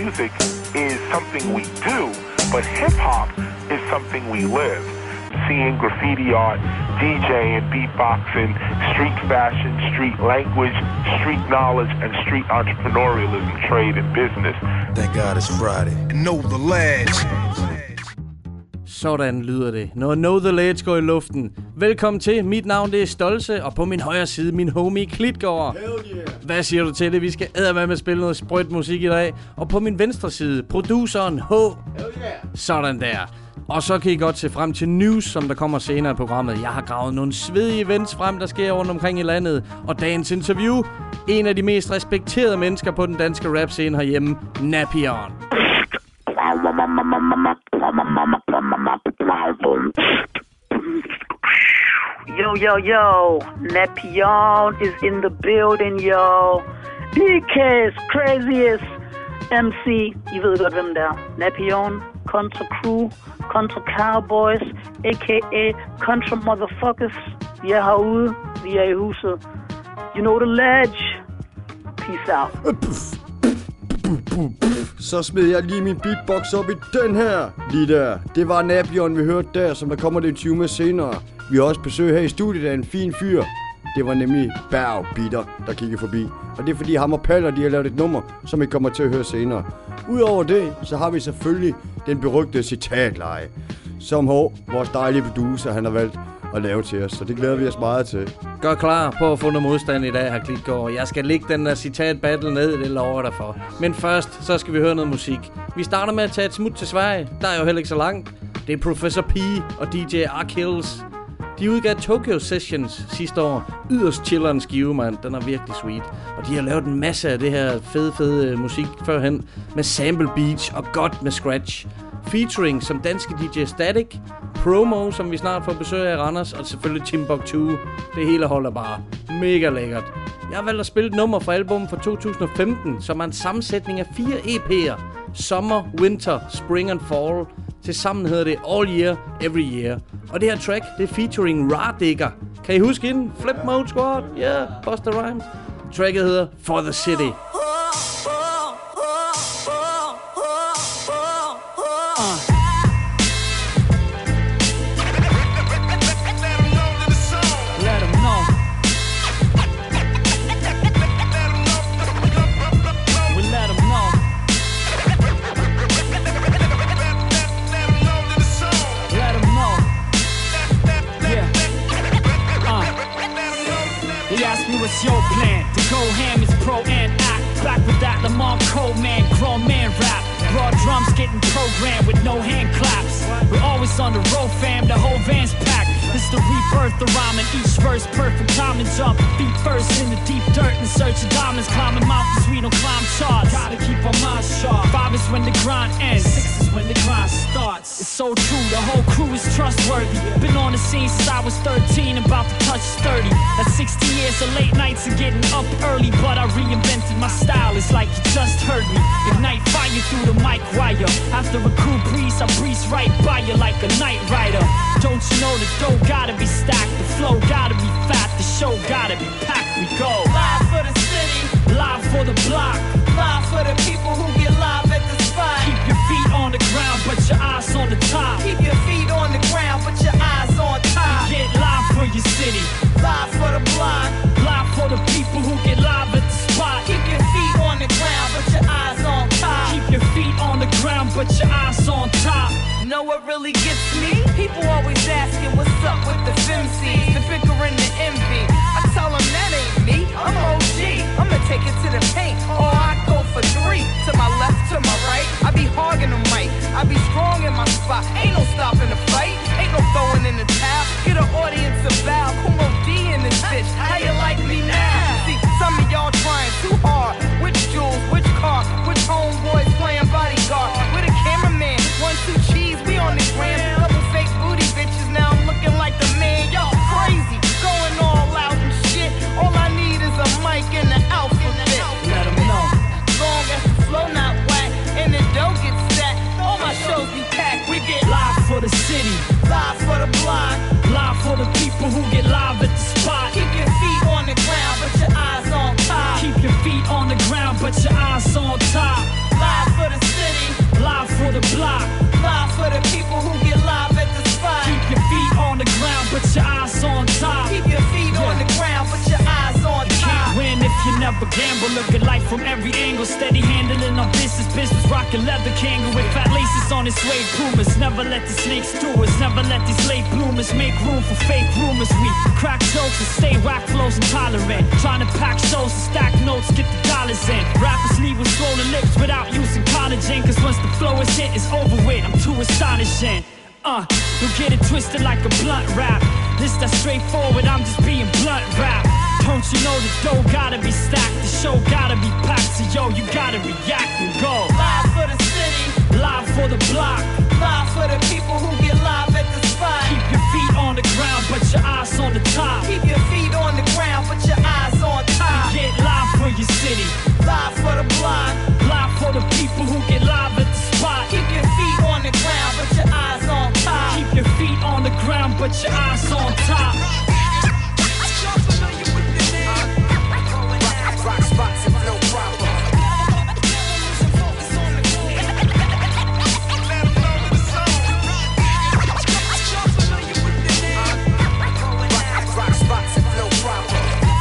music is something we do, but hip-hop is something we live. Seeing graffiti art, DJing, beatboxing, street fashion, street language, street knowledge, and street entrepreneurialism, trade, and business. Thank God it's Friday. And know the ledge. Sådan lyder det, når Know The Ledge går i luften. Velkommen til, mit navn det er Stolse, og på min højre side min homie Klitgaard. Yeah. Hvad siger du til det? Vi skal eddermame spille noget sprødt musik i dag. Og på min venstre side, produceren H. Yeah. Sådan der. Og så kan I godt se frem til news, som der kommer senere i programmet. Jeg har gravet nogle svedige events frem, der sker rundt omkring i landet. Og dagens interview, en af de mest respekterede mennesker på den danske rap-scene herhjemme, Napion. Yo, Napion is in the building, yo. BK's craziest MC. I ved godt, hvem der er. Napion, Contra Crew, Contra Cowboys, a.k.a. Contra Motherfuckers. Vi er herude, vi er i huset. You know the ledge. Peace out. Så smed jeg lige min beatbox op i den her. Lige der. Det var Napion, vi hørte der, som der kommer det 20 med senere. Vi har også besøg her i studiet af en fin fyr. Det var nemlig Berg Bitter, der kiggede forbi. Og det er fordi ham og Paller, de har lavet et nummer, som I kommer til at høre senere. Udover det, så har vi selvfølgelig den berygtede citatleje, som vores dejlige producer, han har valgt at lave til os. Så det glæder vi os meget til. Gør klar på at få noget modstand i dag, her Klitgaard. Jeg skal lægge den der citat-battle ned, det lover dig for. Men først, så skal vi høre noget musik. Vi starter med at tage et smut til Sverige. Der er jo heller ikke så langt. Det er Professor P og DJ Arkhills. De udgav Tokyo Sessions sidste år. Yderst chilleren skive, mand. Den er virkelig sweet. Og de har lavet en masse af det her fede musik førhen. Med sample beats og godt med scratch. Featuring som danske DJ Static, Promo, som vi snart får besøg af i Randers, og selvfølgelig Timbuktu. Det hele holder bare mega lækkert. Jeg har valgt at spille et nummer fra albumet fra 2015, som er en sammensætning af 4 EP'er. Summer, Winter, Spring and Fall. Tilsammen hedder det All Year, Every Year. Og det her track, det er featuring Radigger. Kan I huske inden? Flip Mode Squad? Yeah, Busta Rhymes. Tracket hedder For the City. What's your plan? To go ham is pro and act. Back with that Lamont Cole man, grown man rap. Raw drums getting programmed with no hand claps. We're always on the road, fam, the whole van's packed. It's the rebirth, the rhyming, each verse perfect timing. Jump feet first in the deep dirt in search of diamonds. Climbing mountains, we don't climb charts. Gotta keep our minds sharp. 5 is when the grind ends, 6 is when the grind starts. It's so true, the whole crew is trustworthy. Been on the scene since I was 13, about to touch 30. That's 60 years of late nights and getting up early. But I reinvented my style, it's like you just heard me. Ignite fire through the mic wire. After a cool breeze, I breeze right by you like a night rider. Don't you know the dough gotta be stacked, the flow gotta be fat, the show gotta be packed. We go live for the city, live for the block, live for the people who get live at the spot. Keep your feet on the ground, but your eyes on the top. Keep your feet on the ground, but your eyes on top. Get live for your city, live for the block, live for the people who get live at the spot. Keep your feet on the ground, but your eyes on top. Keep your feet on the ground, but your eyes on top. Know what really gets me? People always asking what's up with the FemCs, the bicker and the envy. I tell them that ain't me, I'm OG. I'ma take it to the paint, or I go for 3. To my left, to my right, I be hogging them right. I be strong in my spot, ain't no stopping the fight. Ain't no throwing in the towel, get an audience of bow. Kumo D in this bitch, how you like me now? See, some of y'all trying too hard. Which jewels, which car, which homeboys playing bodyguard? With a cameraman, 1, 2 cheese, we on the gram. never gamble. Look at life from every angle. Steady handling our business. Business rocking leather kangaroo with fat laces on its suede pumas. Never let the snakes do us. Never let these late bloomers make room for fake rumors. We crack jokes and stay whack flows intolerant. Trying to pack shows and stack notes, get the dollars in. Rappers leave with swollen lips without using collagen. Cause once the flow is hit, it's over with. I'm too astonishing. Don't get it twisted like a blunt rap. This that straightforward, I'm just being blunt rap. Don't you know the dough gotta be stacked, the show gotta be packed. So yo, you gotta react and go. Live for the city, live for the block, live for the people who get live at the spot. Keep your feet on the ground, but your eyes on the top. Keep your feet on the ground, but your eyes on top. Get live for your city, live for the block, live for the people who get live at the spot. Keep your feet on the ground, but your eyes on top. Keep your feet on the ground, but your eyes on top. Rock spots and flow proper. Rock spots and flow proper.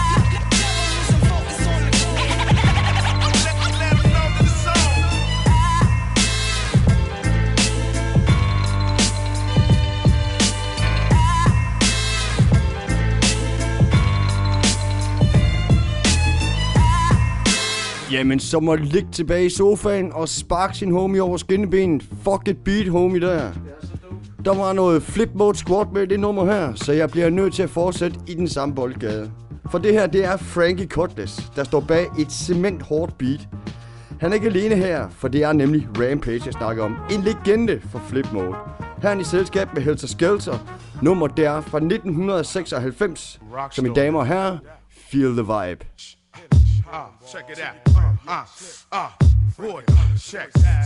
Jamen, så må ligge tilbage i sofaen og sparke sin homie over skinnebenet. Fuck it beat, homie, der. Der var noget flip mode squat med det nummer her, så jeg bliver nødt til at fortsætte i den samme boldgade. For det her, det er Frankie Cutlass, der står bag et cement hårdt beat. Han er ikke alene her, for det er nemlig Rampage, jeg snakker om. En legende for flip mode. Her er han i selskab med Helter Skelter. Nummer der fra 1996. Så mine damer og herrer, feel the vibe. Check it out. Boy, check.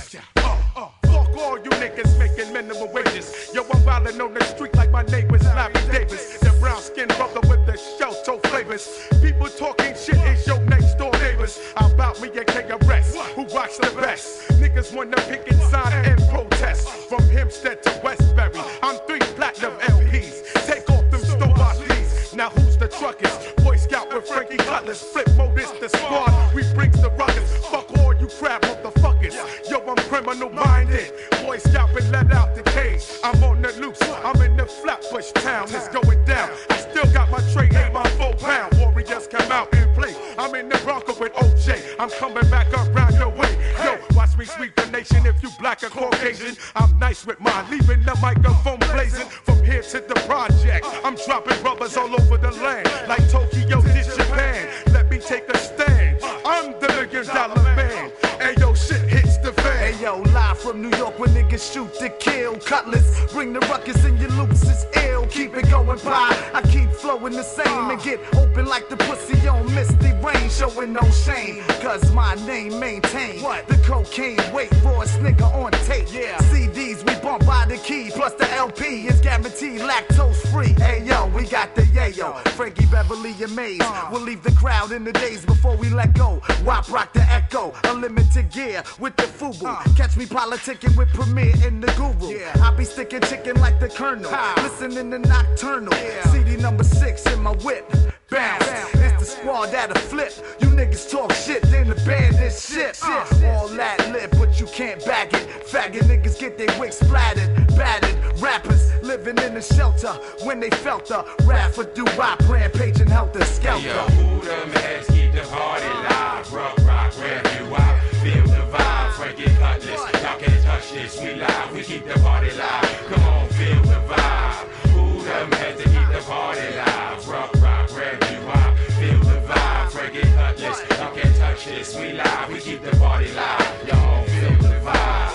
Fuck all you niggas making minimum wages. Yo, I'm wildin' on the street like my neighbors, Larry Davis. The brown skin brother with the shell-toe flavors. People talking shit is your next door neighbors. About me and KRS, who rocks the best. Niggas wanna pick and sign and protest. From Hempstead to Westbury, I'm 3 platinum LPs. Take off them Stobatis. Now who's the truckers? Boy Scout with Frankie Cutlass. Flip mode is the squad. We brings the ruckus. Fuck all you crap motherfuckers. Yo, I'm criminal minded. Boy Scout been let out the cage. I'm on the loose. I'm in the Flatbush town. It's going down. I still got my tray, ain't my 4 pound. Warriors come out and play. I'm in the Bronco with OJ. I'm coming back around your way. Yo, watch me sweep the nation. If you black or Caucasian, I'm nice with mine. Leaving the microphone blazing. From here to the project, I'm dropping rubbers all over the land. Like Tokyo did Japan. Let me take a stand. I'm the $1 million man. Ayo, shit hits the fan. Ayo, live from New York where niggas shoot to kill. Cutlass, bring the ruckus and your loops is ill. Keep it going by, I keep flowing the same. And get open like the pussy on Misty Rain. Showing no shame, cause my name maintained. The cocaine weight, rawest nigga on tape. CDs we bump by the key, plus the LP is guaranteed lactose free. Ayo, we got the yayo, Frankie Beverly and Maze. We'll leave the crowd in the days before we let go. WAP rock the echo, unlimited gear with the FUBU. Catch me politicking with Premier and the Guru. I be sticking chicken like the Colonel, listening to Nocturnal. CD number 6 in my whip. Bounce, it's the squad that'll flip. You niggas talk shit, then the band is shit. All that lit, but you can't bag it. Faggot niggas get their wigs splattered, battered. Rappers living in the shelter when they felt the wrath for do-wop, Rampage and Helter Skelter. Yo, who them heads keep the party live? Rock, rap you out, feel the vibe. Frankie Cutlass, y'all can't touch this, we live, we keep the party live. Come on, feel the vibe. Who them heads to keep the party live? Rock, rap you out, feel the vibe. Frankie Cutlass, y'all can't touch this, we live, we keep the party live. Y'all feel the vibe.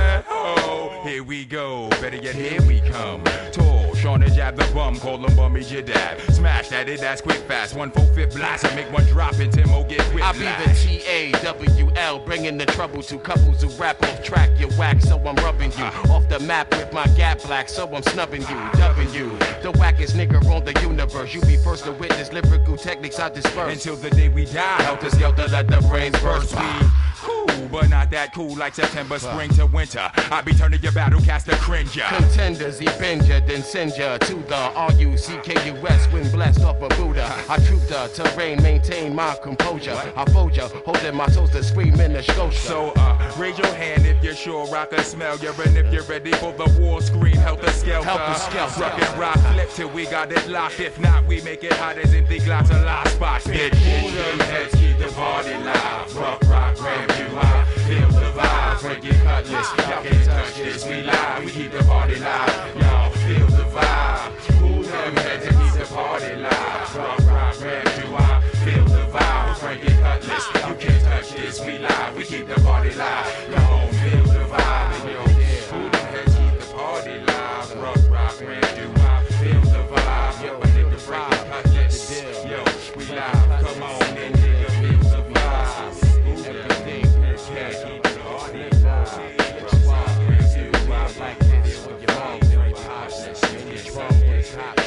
Here we go, better yet here we come. Tall, Sean to jab the bum, call him Bummy Jadab. Smash that it, that's quick fast, 1/4 blast. I make one drop and Timo get whipped. I be the TAWL, bringing the trouble to couples who rap off track. You whack, so I'm rubbing you off the map with my gap black, so I'm snubbing you. W, the wackest nigga on the universe. You be first to witness lyrical techniques I disperse. Until the day we die, Helter Skelter, let the brains burst. cool, but not that cool like September, spring to winter. I be turning your battlecaster cringer. Contenders, he bend ya, then send ya to the R-U-C-K-U-S when blessed off a Buddha. I troop the terrain, maintain my composure. I fold ya, holding my toes to scream in the Scotia. So, raise your hand if you're sure I can smell you. And if you're ready for the war scream, helter-skelter. Helter-skelter. Rock and rock, flip till we got it locked. If not, we make it hot as empty glass of last spot. Bitch, Move them heads, keep the party live. Rock, rock, grab you out. Feel the vibe, break your cutlass. Y'all can't touch this, we live. We keep the party live. Y'all feel the vibe. Move them heads and keep the party live. Rock, rock, grab you out. Feel the vibe, break your cutlass. You can't touch this, we live. We keep the party live. Y'all feel the vibe. Move them heads, keep the party live. Rock, rock, grab you out. Feel the vibe. Yo, I need to break your cutlass. Yo, we live. Come on, and nigga, feel the vibe. Move everything. Yeah, keep the party live. Rock, rock, grab you out. Like this with your mom. Very positive. Get drunk with cops.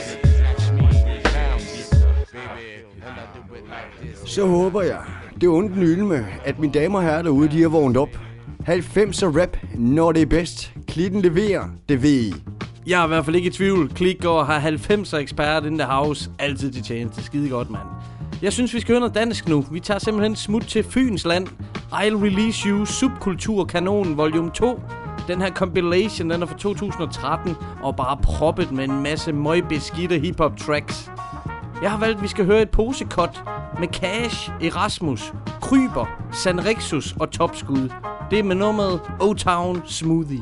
Så håber jeg, det ondt nylme, at mine damer og herrer derude, de har vågnet op. 90'er rap, når det er bedst. Klitten leverer, det ved I. Jeg er i hvert fald ikke i tvivl. Klitgaard har 90'er ekspert in the house. Altid til tjeneste. Skide godt, mand. Jeg synes, vi skal høre noget dansk nu. Vi tager simpelthen smut til Fyns land. I'll Release You, Subkulturkanonen, volume 2. Den her compilation, den er fra 2013, og bare proppet med en masse møgbeskidte hiphop tracks. Jeg har valgt, at vi skal høre et posekot med Cash, Erasmus, Kryber, Sanrexus og Topskud. Det er med nummeret O-Town Smoothie.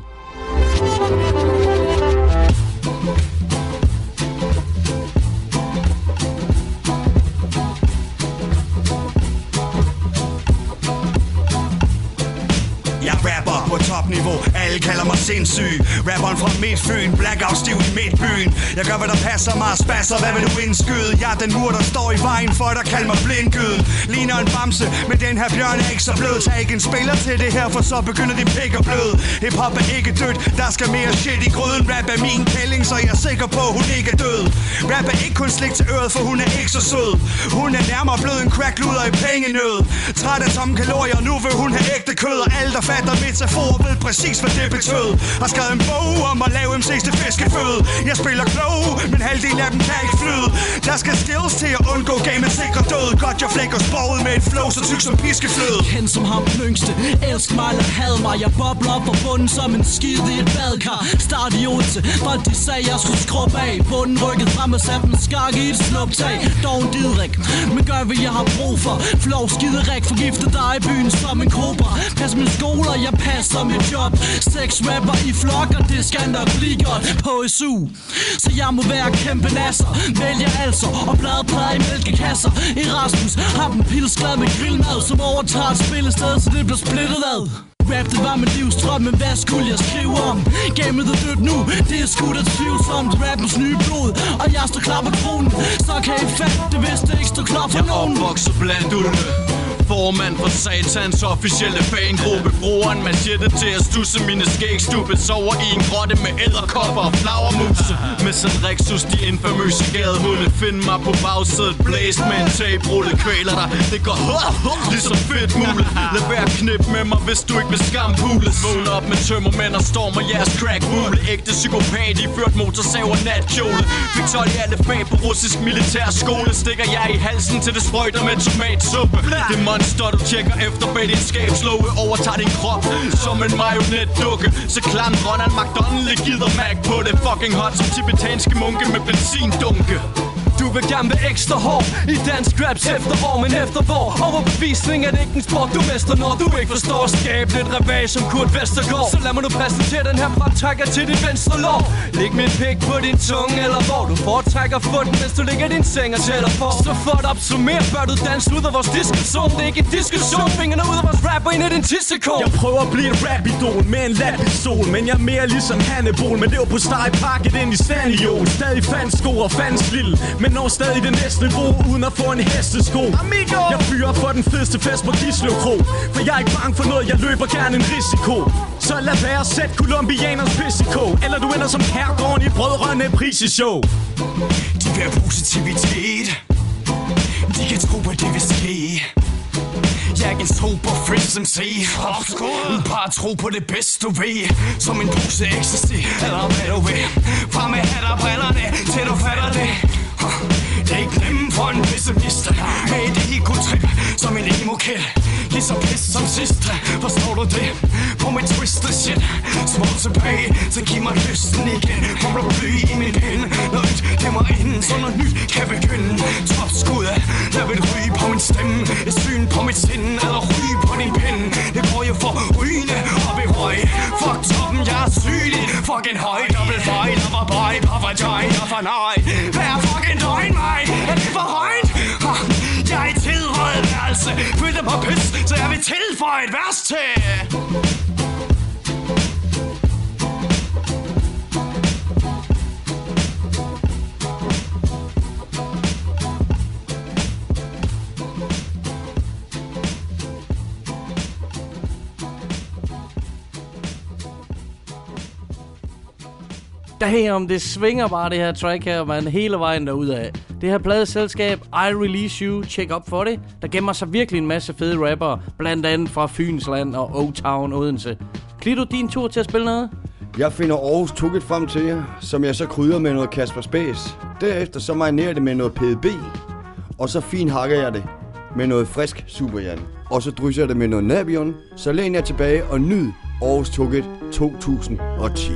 Jeg rapper på topniveau, alle kalder mig sindssyg. Rapperen fra Midtfyn, blackout stiv i Midtbyen. Jeg gør hvad der passer mig, spasser, hvad vil du indskyde? Jeg er den mur der står i vejen for dig, kald mig blindgyden. Ligner en bamse, men den her bjørn er ikke så blød. Tag ikke en spiller til det her, for så begynder din pik at bløde. Hip-hop er ikke dødt, der skal mere shit i gryden. Rap er min kælling, så jeg er sikker på, hun ikke er død. Rap er ikke kun slik til øret, for hun er ikke så sød. Hun er nærmere blød en crackluder i pengenød. Træt af tomme kalorier, nu vil hun have ægte kød. Og alle der fatter metafor ved præcis hvad det betød. Har skrevet en bog om at lave MC's til fiskeføde. Jeg spiller klog, men halvdelen af dem kan ikke flyde. Der skal skills til at undgå gamet sikre død. Godt jeg flækker sproget med et flow så tyk som piskefløde. Kendt som ham den yngste, elsk mig eller had mig. Jeg bobler op for bunden som en skid i et badkar. Start i Odense, for de sagde jeg skulle skrubbe af. Bunden rykket frem og satte en skak i et snuptag. Dog en didrik, men gør hvad jeg har brug for. Flow skiderik, forgifter dig i byen som en kobra. Pas min skole og jeg passer mit job. Sex rapper i flok, og det skal nok blive godt på SU. Så jeg må være kæmpe nasser. Vælger altså og bladplader i mælkekasser. Erasmus har den pilsglad med grillmad, som overtager et spillested, så det bliver splittet ad. Rap, det var min livsdrøm, men hvad skulle jeg skrive om? Gamet er dødt nu, det er sgu da tvivlsomt. Rappens nye blod, og jeg står klar på tronen. Så kan I fatte det, hvis det ikke står klar for nogen. Jeg opvokset blandt ulve, formand for Satans officielle fangruppe. Bruger en machete til at stusse mine skægstubbe. Sover i en grotte med æderkopper og flagermuse. Med Sanrexus, de infamøse gadehunde. Find mig på bagsædet, blæst med en taperulle. Kvæler dig, det går ligesom fedt mule. Lad være knip med mig, hvis du ikke vil skampules. Vågn op med tømmermænd og stormer jeres crackbule. Ægte psykopat, I ført motorsav og natkjole. Fik 12 i alle fag på russisk militærskole. Stikker jeg i halsen til det sprøjter med tomatsuppe. Det monster, du tjekker efter bag din skabslåge. Overtager din krop som en marionetdukke. Så klam Ronald McDonald gider Mac på det. Fucking hot som tibetanske munke med benzindunke. Du vil gerne være ekstra hård i dansk raps efterår, men efter hvor overbevisning er det ikke en sport, du mester, når du ikke forstår at skabe lidt revæg som Kurt Vestergaard. Så lad mig nu præsentere den her fremtrækker til dit venstre lår. Læg min pik på din tunge, eller hvor du foretrækker foden, mens du ligger i din seng og tæller for. Så for at opsummere, bør du danse ud af vores diskussion. Det er ikke en diskussion, fingrene ud af vores rap og ind i din tissekål. Jeg prøver at blive et rap-idol med en lat-pistol, men jeg er mere ligesom Hannibal. Men det var på steg pakket ind i sandjol. Stadig fandt sko og fandt lille, men når stadig det næste niveau, uden at få en hestesko. Amigo! Jeg fyrer for den fedeste fest på Gislev Kro, for jeg er ikke bange for noget, jeg løber gerne en risiko. Så lad være at sætte colombianers pis i kog, eller du ender som herregården i Brødrene Priseshow. De vil have positivitet, de kan tro på det vil ske. Jeg er en sober freak, SMC. Bare tro på det bedste du ved. Som en pose ecstasy, eller hvad du vil. Fra med hat og brillerne, til du fatter det. Det er ikke nemt for en pessimist. Med et ego-trip, som en emo-kid. Ligeså pis som sidst, forstår du det? På mit twisted shit. Små tilbage, så giv mig lysten igen. Kommer du bly i min pind. Noget nyt dæmmer ind, så noget nyt kan begynde. Topskud, jeg vil ryge på min stemme. Et syn på mit sind, eller ryge på din pind. Det går jo for rygende op i høj. Fuck toppen, jeg er sygelig. Fucking høj, dobbelt fejl, og var bøj. Papa joy, og for nej. Hver fucking døgn mig, er det for højt? Jeg er i tilrøget værelse. Følte på pis, så jeg vil tilføje et vers til. Damn, det svinger bare det her track her, man, hele vejen derudad. Det her pladeselskab, I Release You, tjek op for det. Der gemmer sig virkelig en masse fede rappere, blandt andet fra Fynsland og O-Town Odense. Klito, din tur til at spille noget? Jeg finder Aarhus Tukket frem til jer, som jeg så krydder med noget Kasper Space. Derefter så marinerer det med noget PDB, og så fint hakker jeg det med noget frisk Superjan. Og så drysser jeg det med noget Nabion, så læn jer tilbage og nyd Aarhus Tukket 2010.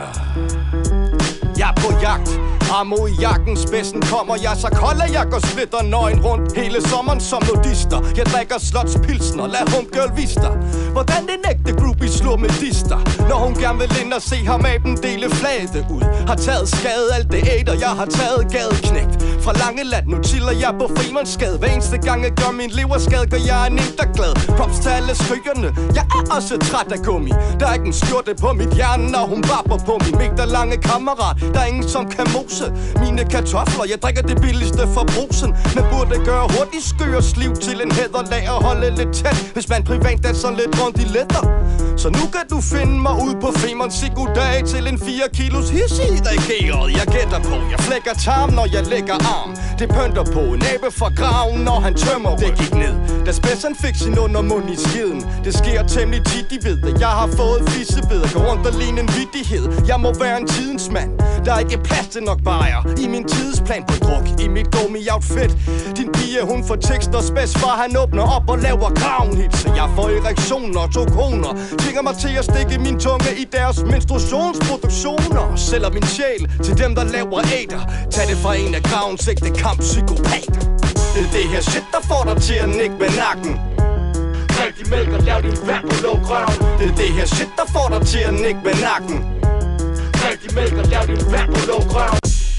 Jeg er på jagt, mod i jakken, spidsen kommer jeg, så kolder jeg går splitter nøgen rundt hele sommeren som nudister. Jeg drikker slotspilsner, lad homegirl vise dig, hvordan den ægte groupie slår med dister. Når hun gerne vil ind og se ham af den dele flade ud. Har taget skade alt det æder, jeg har taget gadeknægt. Fra Langeland, nu chiller jeg på Frimandsgade. Hver eneste gang jeg gør min leverskade, gør jeg en glad. Props til alle skrygerne, jeg er også træt af gummi. Der er ikke en skjorte på mit hjerne, når hun barber på min meter lange kammerat. Der er ingen som kan mose mine kartofler. Jeg drikker det billigste fra brusen, men burde gøre hurtigt skøres liv til en hæderlag og holde lidt tæt, hvis man privat danser lidt rundt i letter. Så nu kan du finde mig ud på Femern Goddag til en 4 kilos hissig reageret. Jeg gætter på, jeg flækker tarm, når jeg lægger arm. Det pønter på en abe fra graven, når han tømmer. Det gik ned, da spidsen fik sin undermund i skiden. Det sker temmelig tit, de ved det. Jeg har fået fissebeder, går rundt og ligne en vittighed. Jeg må være en tidens mand. Der er ikke plads til nok bajer i min tidsplan på druk. I mit gummi-outfit. Din pige, hun får tekst og spids, far han åbner op og laver crown-hits. Så jeg får erektioner og 2 koner. Tvinger mig til at stikke min tunge i deres menstruationsproduktioner. Sælger min sjæl til dem, der laver æder. Tag det fra en af gravens ægte kamppsykopater. Det er det her shit, der får dig til at nikke med nakken. Drik din mælk og lav din vand på lukrøven. Det er det her shit, der får dig til at nikke med nakken. Drik din mælk og lav din vand på lukrøven.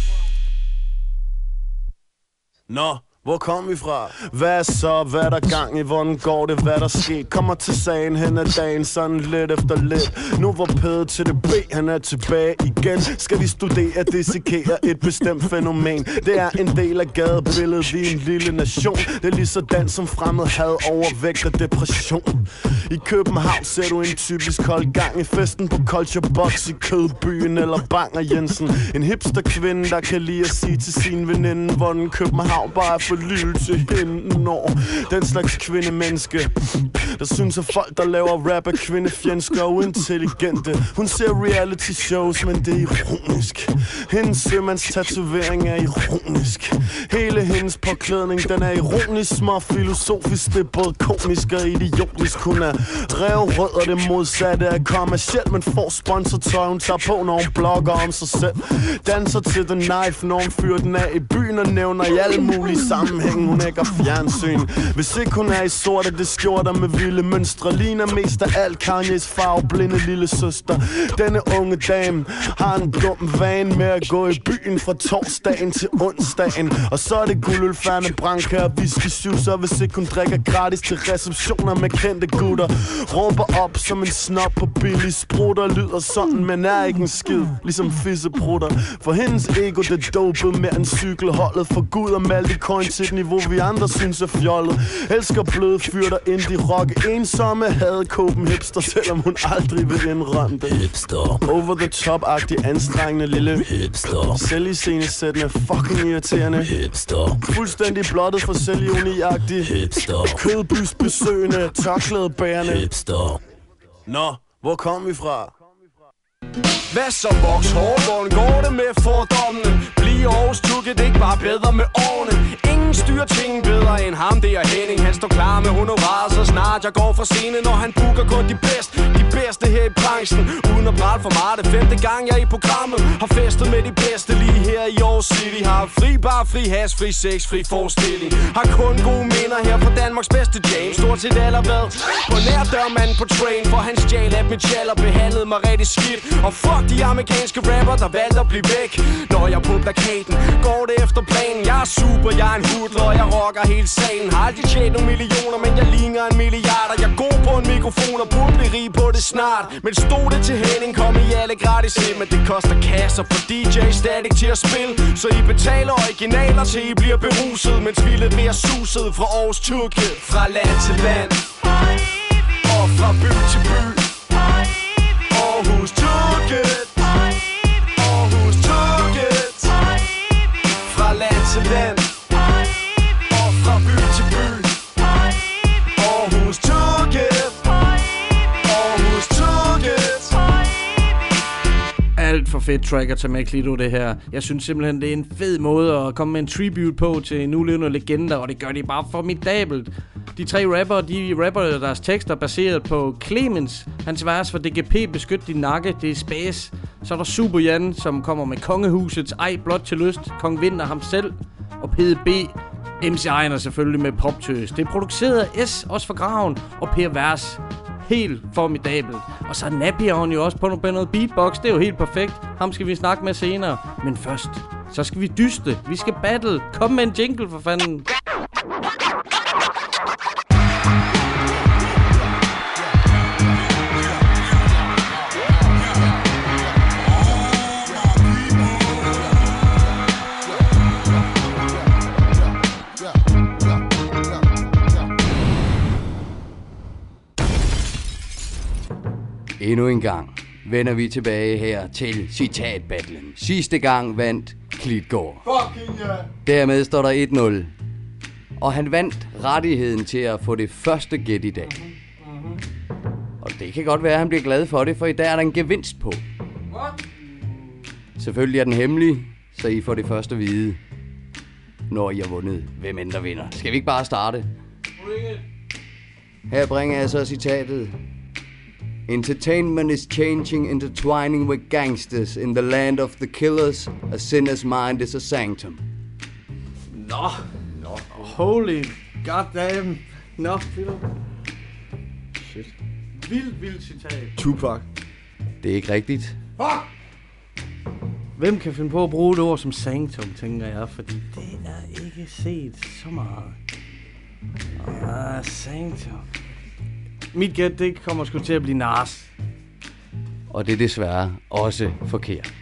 Nå, hvor kom vi fra? Hvad så? Hvad der gang i? Hvordan går det? Hvad der sker? Kommer til sagen hen ad dagen, sådan lidt efter lidt. Nu var Pede til det B, han er tilbage igen. Skal vi studere, dissekere et bestemt fænomen? Det er en del af gadebilledet, vi er en lille nation. Det er lige sådan som fremmed had, overvægt og depression. I København ser du en typisk kold gang i festen på Culture Box i Kødbyen eller Bang og Jensen. En hipster kvinde, der kan lide at sige til sin veninde, hvordan København bare er for lille til hende. Når den slags kvindemenneske, der synes at folk, der laver rap er kvindefjendske og uintelligente. Hun ser reality shows, men det er ironisk. Hendes sømandstatovering er ironisk. Hele hendes påklædning, den er ironisk, små filosofisk. Det er både komisk og idiotisk. Hun er røvrød og det modsatte er kommercielt, men får sponsortøj, hun tager på, når hun blogger om sig selv. Danser til The Knife, når hun fyrer den af i byen og nævner i alle mulige sammenhænge. Hun ægger fjernsyn. Hvis ikke hun er i sorte, det skjorter med vilde mønstre, ligner mest af alt Kanye's farveblinde lille søster. Denne unge dame har en dum vane med at gå i byen fra torsdagen til onsdagen. Og så er det guldølfærne, branca og whisky-sjusser, hvis ikke hun drikker gratis til receptioner med kendte gutter. Råber op som en snop på billig sprutter, lyder sådan, men er ikke en skid, ligesom fisseprutter. For hendes ego, det dopet med en cykelholdet. For Gud og Maltecoin til et niveau, vi andre synes er fjollet. Elsker bløde fyr, der indie rock, ensomme hadekåben hipster, selvom hun aldrig vil indrømme det. Hipster. Over the top-agtig, anstrengende lille hipster. Selviscenesættende, fucking irriterende hipster. Fuldstændig blottet for selvironi-agtig hipster. Kødbys besøgende, tørklæde bagerne. Hipster. Nå, hvor kom vi fra? Hvad så voks hårdt, hvordan går det med fordommene? Bliv Aarhus tukket, ikke bare bedre med årene. Ingen styrer ting bedre end ham, det er Henning. Han står klar med honorar, så snart jeg går fra scenen. Når han booker kun de bedste her i branchen. Uden at prale for meget, det 5. gang jeg er i programmet. Har festet med de bedste lige her i Aarhus City. Har fri bar, fri has, fri sex, fri forestilling. Har kun gode minder her fra Danmarks bedste James. Stort set allerede på nær dørmanden på train. For han stjal af mit tjal og behandlede mig rigtig skidt. Og fuck de amerikanske rapper, der valgte at blive væk. Når jeg er på plakaten, går det efter planen. Jeg er super, jeg er en hudler, og jeg rocker hele salen. Har aldrig tjent nogle millioner, men jeg ligner en milliarder. Jeg går på en mikrofon og burde blive rig på det snart. Men stod det til Henning, kom I alle gratis ind. Men det koster kasser for DJ stadig til at spille. Så I betaler originaler til I bliver beruset. Mens vi leverer suset fra Aarhus Turket. Fra land til land og fra by til by. Aarhus Turket, Aarhus Turket. Fra land til land og fra by til by. Aarhus Turket, Aarhus Turket. Alt for fedt track at tage med, Klito, det her. Jeg synes simpelthen, det er en fed måde at komme med en tribute på til en nulevende legender, og det gør de bare formidabelt. De 3 rapper, de rapper deres tekster baseret på Clemens, hans vers for DGP, Beskyt din nakke, det er Space. Så er der Super Jan, som kommer med Kongehusets Ej blot til lyst, Kong Vinter ham selv, og PDB, MC Ejner selvfølgelig med Poptøs. Det er produceret af S, også for Graven, og Per Vers. Helt formidabelt. Og så er Napion jo også på noget beatbox, det er jo helt perfekt. Ham skal vi snakke med senere. Men først, så skal vi dyste. Vi skal battle. Kom med en jingle for fanden. Endnu en gang vender vi tilbage her til citatbattlen. Sidste gang vandt Klitgaard. Fucking yeah. Dermed står der 1-0. Og han vandt rettigheden til at få det første gæt i dag. Og det kan godt være, at han bliver glad for det, for i dag er der en gevinst på. Selvfølgelig er den hemmelig, så I får det første at vide, når I har vundet, hvem end der vinder. Skal vi ikke bare starte? Her bringer jeg så citatet. Entertainment is changing, intertwining with gangsters. In the land of the killers, a sinner's mind is a sanctum. Nå. Holy goddamn. Nå, shit. Vildt citat. Tupac. Det er ikke rigtigt. Fuck! Hvem kan finde på at bruge det ord som sanctum, tænker jeg, fordi det er ikke set så meget. Sanctum. Mit gæt, det kommer sgu til at blive Nas. Og det er desværre også forkert.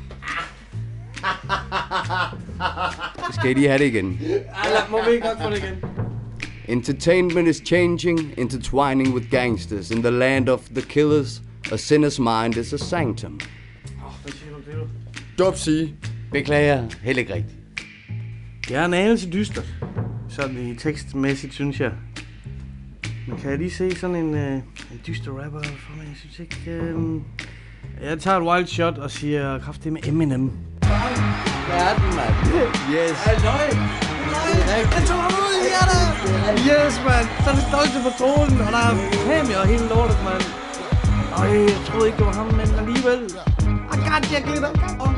Skal I lige have det igen? Må vi ikke nok få det igen? Entertainment is changing, intertwining with gangsters. In the land of the killers, a sinner's mind is a sanctum. Hvad siger du det? Dub sige. Beklager, heller ikke rigtigt. Det er en anelse dystert. Sådan i tekstmæssigt, synes jeg. Men kan jeg lige se sådan en dyster rapper for mig? Jeg synes ikke... Jeg tager et wild shot og siger kraftigt med Eminem. Hvad er den, mand? Yes. Halløj! Jeg tog ham ud i hjertet! Yes, mand! Så er det stolte på tronen, og der er kamera og hele lortet, mand. Jeg troede ikke, det var ham, men alligevel. I got you, Glitter!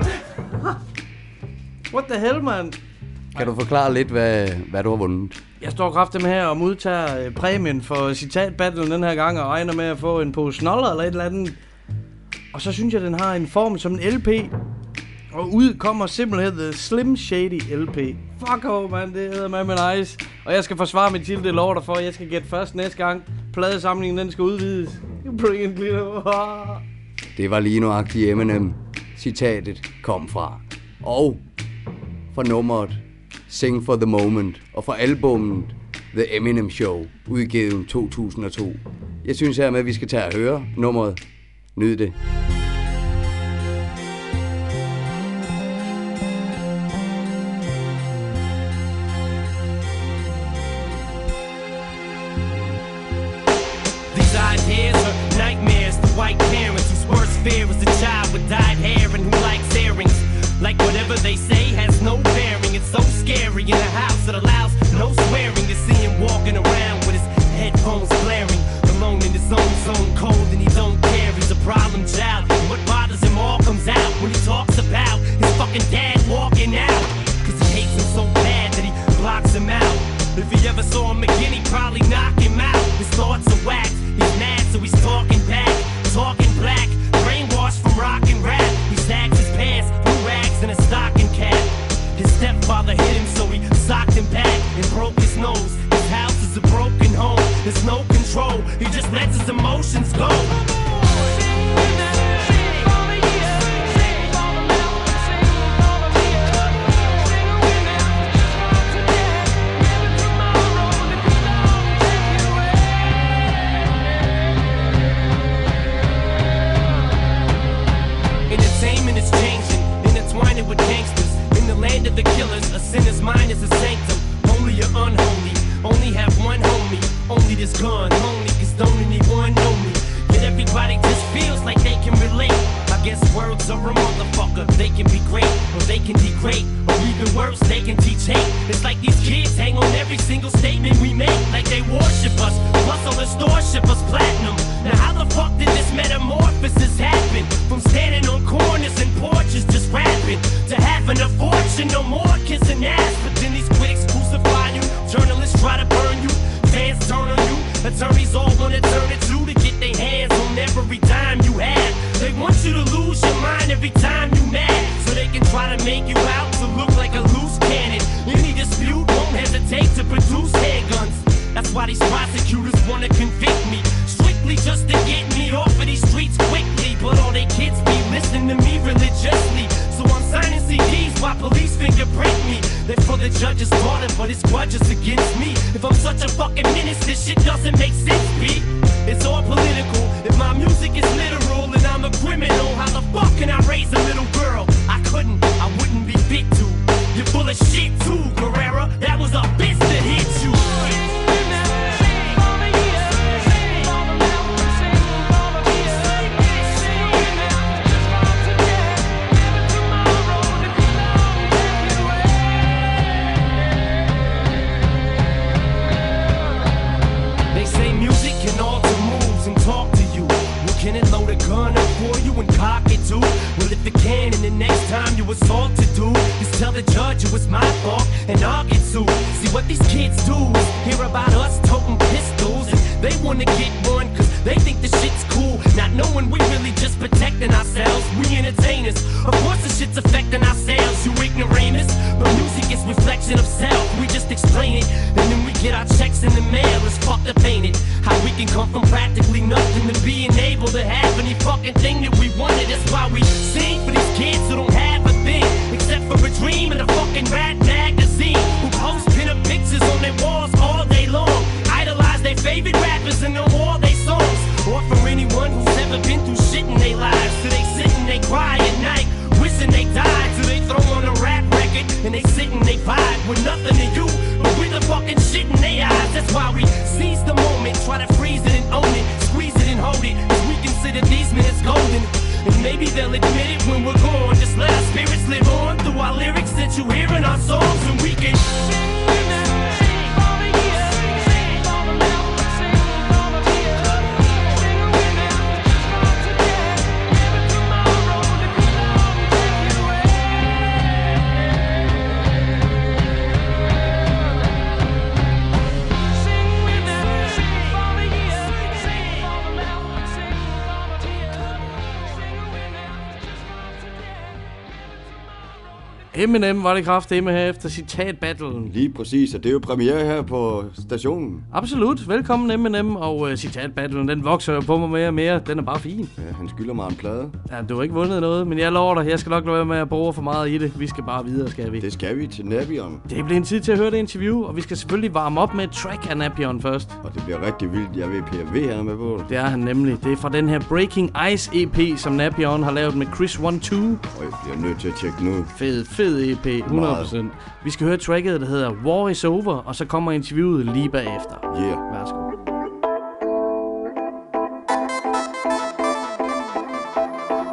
What the hell, mand? Kan du forklare lidt, hvad du har vundet? Jeg står kraftigt med her og modtager præmien for citatbattlen den her gang, og regner med at få en pose snoller eller et eller andet. Og så synes jeg, den har en form som en LP. Og ud kommer simpelthen The Slim Shady LP. Fuck oh, man, det hedder med nice. Og jeg skal forsvare mit til, det lover dig for. Jeg skal gætte først næste gang. Pladesamlingen, den skal udvides. Bring it, Glitter. Det var lige nøjagtigt Eminem. Citatet kom fra. Og fra nummeret Sing for the Moment, og fra albummet The Eminem Show, udgivet 2002. Jeg synes hermed, at vi skal tage og høre nummeret. Nyd det. fair as a child with dyed hair and who likes earrings. Like whatever they say has no bearing. It's so scary in a house that allows no swearing to see him walking around with his headphones blaring, alone in his own zone, cold and he don't care. He's a problem child. And what bothers him all comes out when he talks about his fucking dad walking out. Cause he hates him so bad that he blocks him out. If he ever saw him again, he'd probably knock him out. His thoughts are whacked. He's mad, so he's talking back, talking black, brainwashed from rock and rap. He sags his pants, blue rags, and a stocking cap. His stepfather hit him, so he socked him back and broke his nose. His house is a broken home. There's no control. He just lets his emotions go. With gangsters in the land of the killers, a sinner's mind is a sanctum. Holy or unholy, only have one homie. Only this gun, only cause don't anyone know me. Yet everybody just feels like they can relate. I guess words are a motherfucker. They can be great, or they can degrade, or even worse, they can teach hate. It's like these kids hang on every single statement we make, like they worship us. Plus all the stores ship us platinum. Now how the fuck did this metamorphosis happen? From standing on corners and porches just rapping to having a fortune, no more kissing ass. But then these critics crucify you, journalists try to burn you, fans turn on you, attorneys all wanna turn it to get their hands on every dime you have. They want you to lose your mind every time you mad, so they can try to make you out to look like a loose cannon. Any dispute won't hesitate to produce handguns. That's why these prosecutors wanna convict me, strictly just to get me off of these streets quickly. But all they kids be listening to me religiously, so I'm signing CDs while police fingerprint me. They're for the judge's daughter, but his grudge is against me. If I'm such a fucking menace, this shit doesn't make sense, B. It's all political. If my music is literal and I'm a criminal, how the fuck can I raise a little girl? I couldn't, I wouldn't be fit to. You're full of shit too, Carrera. That was a bitch that hit you. Can it load a gun up for you and cock it too? Well, if it can, and the next time you assault to do is tell the judge it was my fault and I'll get sued. See what these kids do is hear about us toting pistols, and they wanna get one cause they think the shit's cool, not knowing we really just protecting ourselves. We entertainers, of course the shit's affecting ourselves, you ignoramus. But music is reflection of self, we just explain it, and then we get our checks in the mail. It's fucked up, ain't it? How we can come from practically nothing to being able to have any fucking thing that we wanted. That's why we sing for these kids who don't have a thing except for a dream and a fucking rat magazine, who post pin-up pictures on their walls all day long, idolize their favorite rappers and know all their songs. Or for anyone who's never been through shit in their lives, so they sit and they cry at night wishing they died. So they throw on a rap record and they sit and they vibe with nothing to you but with the fucking shit in their eyes. That's why we seize the moment, try to freeze it and own it, squeeze it and hold it, cause we consider these minutes golden. And maybe they'll admit it when we're gone. Just let our spirits live on through our lyrics that you hear in our songs, and we can Eminem var det kraftedeme her efter citatbattlen. Lige præcis, og det er jo premiere her på stationen. Absolut. Velkommen Eminem, og citatbattlen, den vokser jo på mig mere og mere. Den er bare fin. Ja, han skylder mig en plade. Ja, du har ikke vundet noget, men jeg lover dig, jeg skal nok lade være med at bruge for meget i det. Vi skal bare videre, skal vi? Det skal vi til Napion. Det bliver en tid til at høre det interview, og vi skal selvfølgelig varme op med et track af Napion først. Og det bliver rigtig vildt. Jeg ved, PRV han er med på det. Det er han nemlig. Det er fra den her Breaking Ice EP, som Napion har lavet med Chris 1-2. Og jeg bliver nødt til at tjekke nu. Fed EP, 100%. Vi skal høre tracket, der hedder War is Over, og så kommer interviewet lige bagefter. Yeah. Værsgo.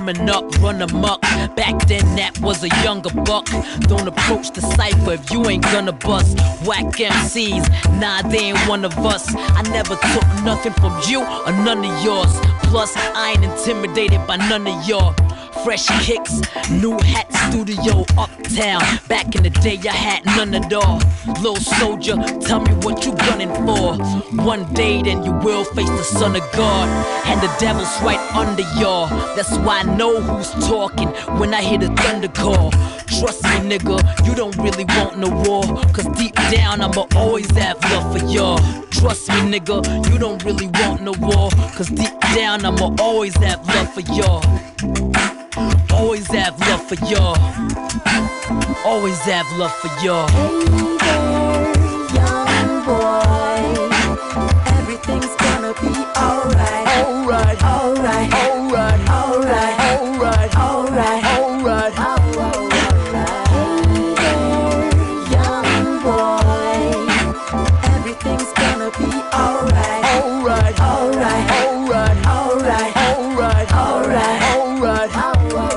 coming up, run amok. Back then that was a younger buck. Don't approach the cypher if you ain't gonna bust. Whack MCs, nah, they ain't one of us. I never took nothing from you or none of yours. Plus, I ain't intimidated by none of y'all. Fresh kicks, new hat, studio uptown. Back in the day, I had none at all. Little soldier, tell me what you gunning for. One day, then you will face the son of God. And the devil's right under y'all. That's why I know who's talking when I hear the thunder call. Trust me, nigga, you don't really want no war. Cause deep down, I'ma always have love for y'all. Trust me, nigga, you don't really want no war. Cause deep down, I'ma always have love for y'all. Always have love for y'all. Always have love for y'all. Hey there, young boy. Everything's gonna be alright. Alright, alright, alright, alright, alright, alright, alright, alright. Hey there, young boy. Everything's gonna be alright. Alright, alright, alright, alright, alright, alright, alright, alright.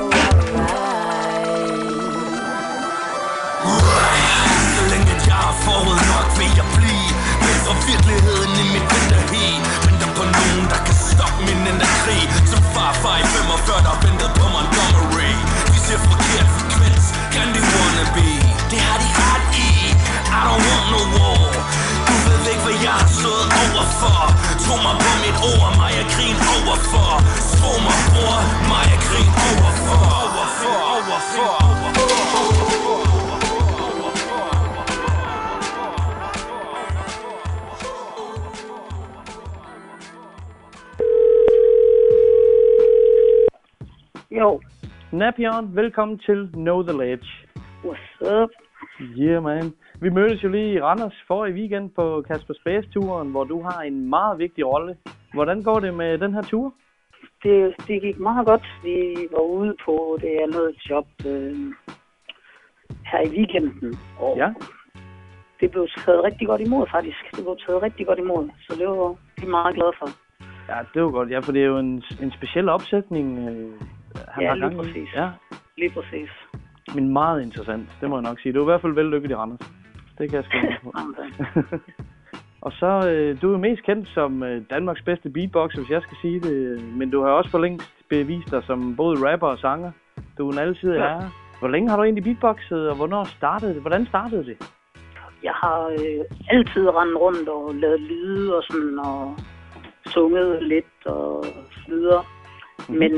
Virkeligheden i mit vinterhed. Venter på nogen, der kan stoppe min krig. Som farfar i 45, der ventede på Montgomery. De siger forkert frekvens, kan de wannabe. Det har de ret i, I don't want no war. Du ved ikke, hvad jeg har stået overfor. Tro mig på mit ord, mig er krigen overfor. Tro mig, bror, mig er krigen overfor. Overfor, overfor, overfor. Jo. Napion, velkommen til Know The Ledge. What's up? Yeah, man. Vi mødtes jo lige i Randers forrige weekend på Casper Space-turen, hvor du har en meget vigtig rolle. Hvordan går det med den her tur? Det gik meget godt. Vi var ude på det andet job her i weekenden. Og ja. Det blev taget rigtig godt imod, faktisk. Det blev taget rigtig godt imod, så det var vi meget glade for. Ja, det var godt. Ja, for det er jo en speciel opsætning. Ja, lige præcis. Ja, lige præcis. Men meget interessant, det må jeg nok sige. Du er i hvert fald vellykket i Randers. Det kan jeg skrive på. Og så, du er mest kendt som Danmarks bedste beatboxer, hvis jeg skal sige det. Men du har også for længst bevist dig som både rapper og sanger. Du er en altid herre. Hvor længe har du egentlig beatboxet, og hvornår startede det? Hvordan startede det? Jeg har altid rendt rundt og lavet lyde og sådan, og sunget lidt og så videre. Men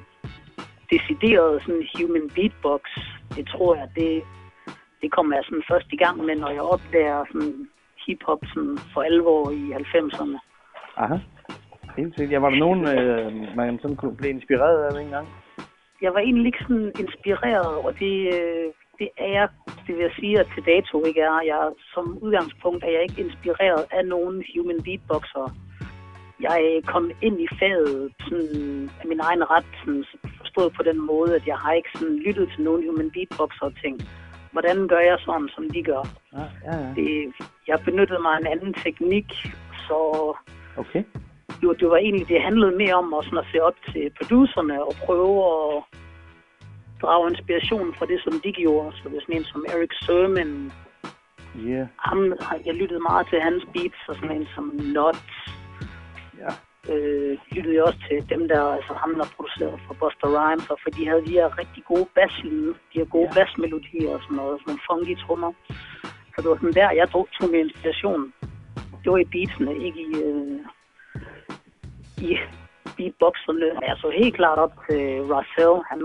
decideret sådan human beatbox, det tror jeg, det kommer jeg sådan først i gang med, når jeg opdager sådan hip-hop sådan for alvor i 90'erne. Aha, helt sikkert. Ja, var der nogen, man sådan kunne blive inspireret af engang? Jeg var egentlig ikke sådan inspireret, og det er jeg, det vil jeg sige, at til dato ikke er. Jeg, som udgangspunkt er jeg ikke inspireret af nogen human beatboxer. Jeg kom ind i faget sådan, af min egen ret, sådan, forstået på den måde, at jeg har ikke sådan lyttet til nogen human beatboxer og tænkt, hvordan gør jeg sådan, som de gør? Ja. Jeg benyttede mig af en anden teknik, så okay. Det var egentlig, det handlede mere om at, sådan, at se op til producerne og prøve at drage inspiration fra det, som de gjorde. Så det er sådan en som Eric Sermon. Yeah. Jeg lyttede meget til hans beats, og sådan en som Nuts. Ja. Lyttede jeg også til dem der, altså ham der produceret for Busta Rhymes, og for de havde de her rigtig gode basslyde, de her gode bassmelodier og sådan noget, sådan nogle funky trommer. Så det var sådan der, jeg tog med inspiration. Det var i beatsene, ikke i beatboxerne. Jeg så helt klart op til Russell, han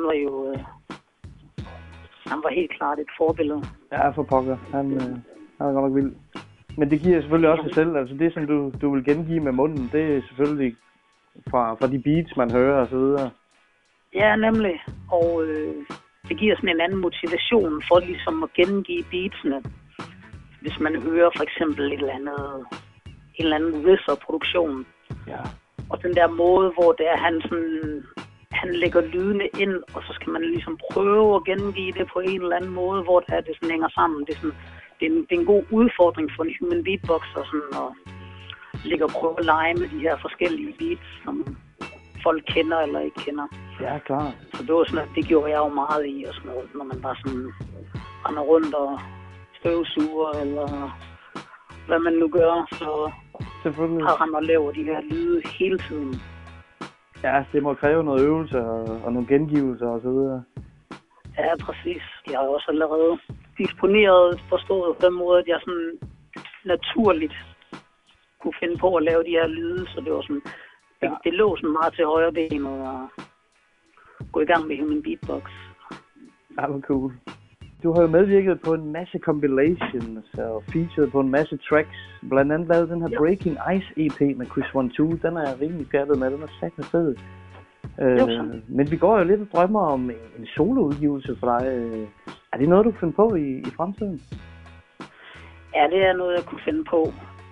var helt klart et forbillede. Ja, for pokker. Han er godt nok vild. Men det giver selvfølgelig også sig selv. Altså det, som du vil gengive med munden, det er selvfølgelig fra de beats, man hører og så videre. Ja, nemlig. Og det giver sådan en anden motivation for ligesom at gengive beatsene. Hvis man hører for eksempel en eller anden riff-produktion. Ja. Og den der måde, hvor det er, han lægger lydene ind, og så skal man ligesom prøve at gengive det på en eller anden måde, hvor det sådan hænger sammen. Det er en god udfordring for en human beatboxer sådan at ligge og prøve at lege med de her forskellige beats, som folk kender eller ikke kender. Ja, klart. Så det var sådan, at det gjorde jeg jo meget i, og sådan noget, når man bare sådan render rundt og støvsuger, eller hvad man nu gør, så har han og laver de her lyde hele tiden. Ja, det må kræve noget øvelse og nogle gengivelser og så videre. Ja, præcis. Jeg har også allerede disponeret, forstået på den måde, at jeg sådan naturligt kunne finde på at lave de her lyde, så det var sådan, det lå sådan meget til højre ben og gå i gang med human beatbox. Ja, hvor cool. Du har jo medvirket på en masse compilations og featured på en masse tracks. Blandt andet lavet den her Breaking Ice EP med Chris 1-2. Den er jeg rimelig færdig med. Den er satme fed. Men vi går jo lidt og drømmer om en soloudgivelse for dig. Er det noget, du kan finde på i fremtiden? Ja, det er noget, jeg kunne finde på.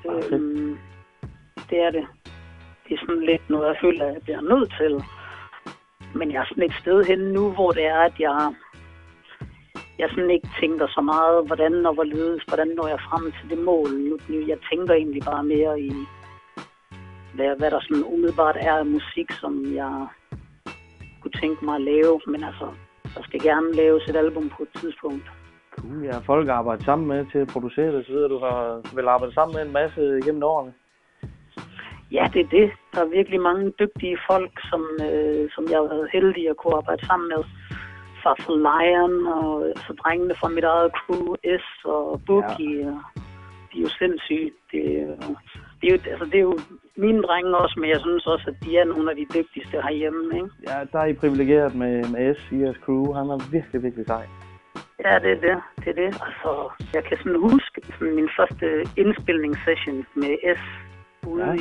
Det er det. Det er sådan lidt noget, jeg føler, at jeg bliver nødt til. Men jeg er sådan et sted henne nu, hvor det er, at jeg sådan ikke tænker så meget, hvordan og hvorledes, hvordan når jeg frem til det mål. Nu, jeg tænker egentlig bare mere i, hvad der sådan umiddelbart er af musik, som jeg kunne tænke mig at lave. Men altså, der skal gerne laves et album på et tidspunkt. Cool, ja. Folk har arbejdet sammen med til at producere det, så videre. Du har vel arbejdet sammen med en masse gennem årene? Ja, det er det. Der er virkelig mange dygtige folk, som jeg har været heldig at kunne arbejde sammen med. Fra Lion og så drengene fra mit eget crew, S og Boogie. Ja. De er jo sindssyge. Det er jo mine drenge også, men jeg synes også, at de er nogle af de dygtigste herhjemme, ikke? Ja, der er I privilegeret med S i jeres crew. Han er virkelig, virkelig sej. Ja, det er det. Altså, jeg kan sådan huske sådan min første indspilningssession med S ude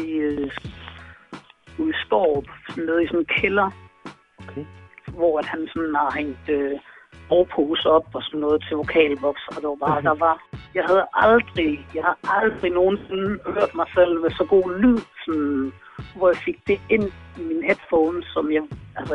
i Skårup, sådan nede i sådan en kælder. Okay. Hvor at han sådan har hængt overpose op og sådan noget til vokalboks, og det var bare, jeg har aldrig nogensinde hørt mig selv med så god lyd, sådan, hvor jeg fik det ind i min headphones, som jeg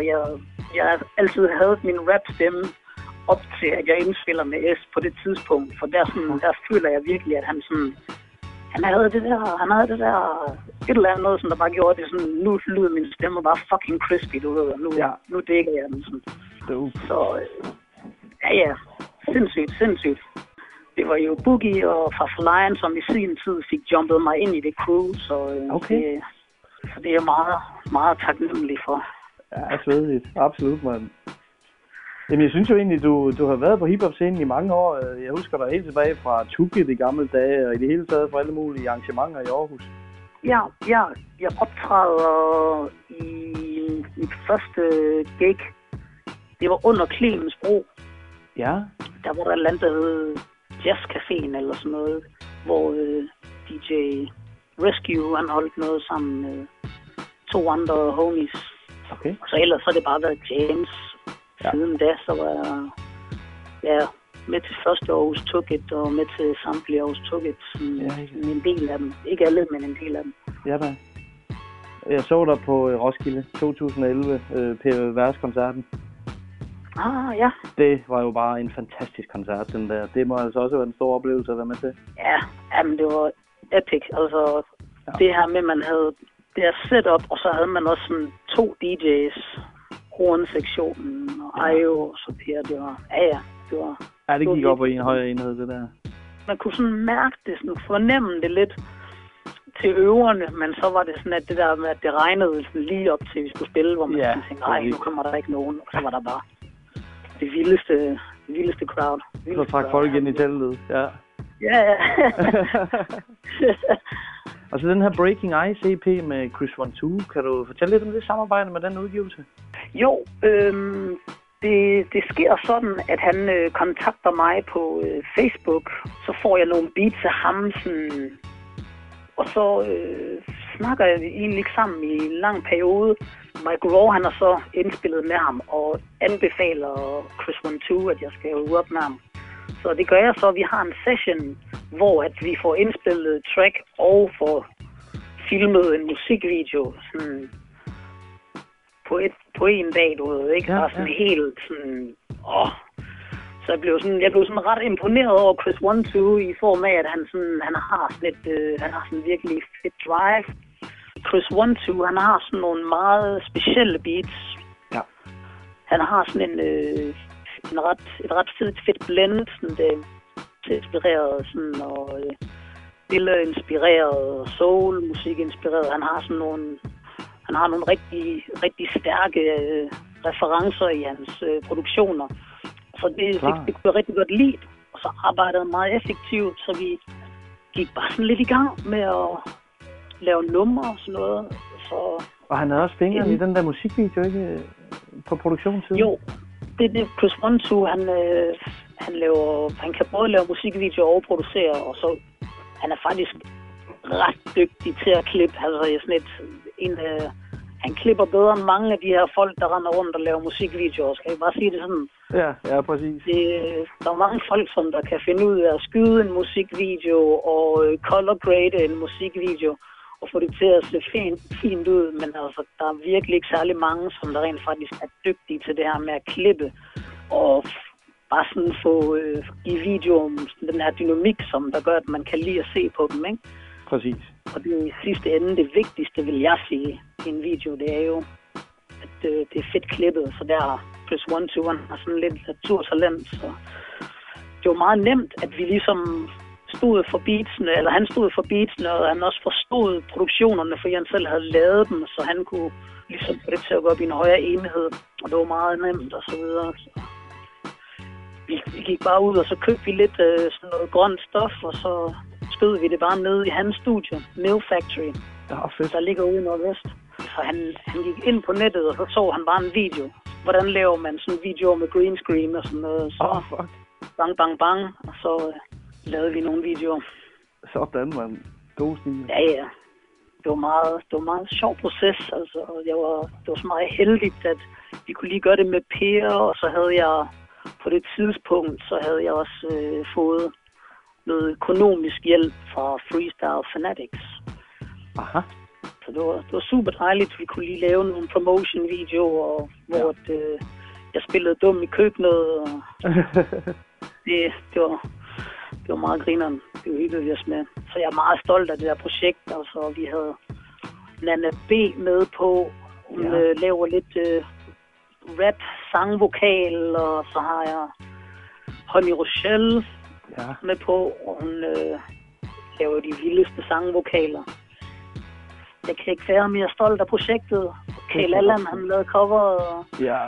altid havde min rap-stemme op til, at jeg indspiller med S på det tidspunkt, for der føler jeg virkelig, at han havde det der, et eller andet, som der bare gjorde det sådan, nu lyder min stemme bare fucking crispy, du ved, nu dækker jeg den sådan. Så, ja, sindssygt. Det var jo Boogie og fra Lion, som i sin tid fik jumpet mig ind i det crew, så det er jeg meget, meget taknemmelig for. Ja, svedigt. Absolut, mand. Jamen, jeg synes jo egentlig, du har været på hiphop-scenen i mange år. Jeg husker dig helt tilbage fra Tukit i gamle dage, og i det hele taget fra alle mulige arrangementer i Aarhus. Ja, jeg optræder i mit første gig. Det var under Clemens Bro. Ja. Der var der et eller andet, der hed Jazzcaféen eller sådan noget, hvor DJ Rescue, han holdt noget sammen med 2 andre homies. Okay. Og så ellers så har det bare været James. Ja. Siden da, så var jeg med til første Aarhus Tukit og med til samtlige Aarhus Tukit. En del af dem. Ikke alle, men en del af dem. Ja da. Jeg så dig på Roskilde 2011, Per-Vers-koncerten. Ah, ja. Det var jo bare en fantastisk koncert, den der. Det må altså også være en stor oplevelse at være med til. Ja, men det var epic. Altså, det her med, man havde det her setup, og så havde man også sådan 2 DJ's. Hornsektionen og Ayo og så Per, det var, det var... Ja, det gik op i en højere enhed, det der. Man kunne sådan mærke det, sådan fornemme det lidt til øverne, men så var det sådan, at det der med, at det regnede sådan lige op til, vi skulle spille, hvor man tænkte, nu kommer der ikke nogen, og så var der bare det vildeste crowd. Så trak folk ind i teltet, ja. Ja. Og så den her Breaking Ice EP med Chris 1-2, kan du fortælle lidt om det samarbejde med den udgivelse? Jo, det sker sådan, at han kontakter mig på Facebook, så får jeg nogle beats af ham, sådan, og så snakker jeg egentlig ikke sammen i en lang periode. Mike Raw, han har så indspillet med ham og anbefaler Chris 1-2, at jeg skal øve op med ham. Så det gør jeg så, at vi har en session, hvor at vi får indspillet track og får filmet en musikvideo sådan, på en dag, du ved, ikke? Ja, sådan helt sådan, Så jeg blev sådan ret imponeret over Chris 1-2 i form af, at han har sådan virkelig fedt drive. Chris 1-2, han har sådan nogle meget specielle beats. Ja. Han har sådan et ret fedt blend, sådan det inspireret sådan, og billede-inspireret, soul-musik-inspireret. Han har nogle rigtig stærke referencer i hans produktioner. Så det kunne jeg rigtig godt lide. Og så arbejdede han meget effektivt, så vi gik bare sådan lidt i gang med at lave numre og sådan noget. Så, og han havde også fingeren i den der musikvideo, ikke? På produktionssiden? Jo, det er det. Chris 1-2, han kan både lave musikvideoer og producere, og så han er faktisk ret dygtig til at klippe. Altså han klipper bedre end mange af de her folk, der render rundt og laver musikvideoer. Skal jeg bare sige det sådan? Ja, præcis. Der er mange folk, som der kan finde ud af at skyde en musikvideo og color grade en musikvideo og få det til at se fint ud. Men altså, der er virkelig ikke særlig mange, som der rent faktisk er dygtige til det her med at klippe og bare sådan få i videoen den her dynamik, som der gør, at man kan lide at se på dem, ikke? Præcis. Og det er i sidste ende det vigtigste, vil jeg sige, i en video, det er jo, at det er fedt klippet, så der har Chris 1-2 har sådan lidt naturtalent, så det var meget nemt, at vi ligesom stod for beatsene, eller han stod for beatsene, og han også forstod produktionerne, fordi han selv havde lavet dem, så han kunne ligesom få det til at gå op i en højere enhed, og det var meget nemt og så videre. Så vi gik bare ud, og så købte vi lidt sådan noget grønt stof, og så skød vi det bare ned i hans studie, Mill Factory, der ligger ude i Nordvest. Så han gik ind på nettet, og så han bare en video. Hvordan laver man sådan en video med green screen og sådan noget. Så bang, bang, bang, og så lavede vi nogle videoer. Sådan, man. God stil. Ja. Det var meget sjov proces, altså. Det var så meget heldigt, at vi kunne lige gøre det med Per, og så havde jeg på det tidspunkt, så havde jeg også fået noget økonomisk hjælp fra Freestyle Fanatics. Aha. Så det var super dejligt. Vi kunne lige lave nogle promotion-videoer, hvor jeg spillede dum i køkkenet. Og det var meget grineren. Det var hyggeligt os med. Så jeg er meget stolt af det der projekt. Altså, vi havde Nana B med på. Hun laver lidt rap, sangvokal, og så har jeg Honey Rochelle med på, og hun laver de vildeste sangvokaler. Jeg kan ikke være mere stolt af projektet. Kjell Allan, han lavede cover, og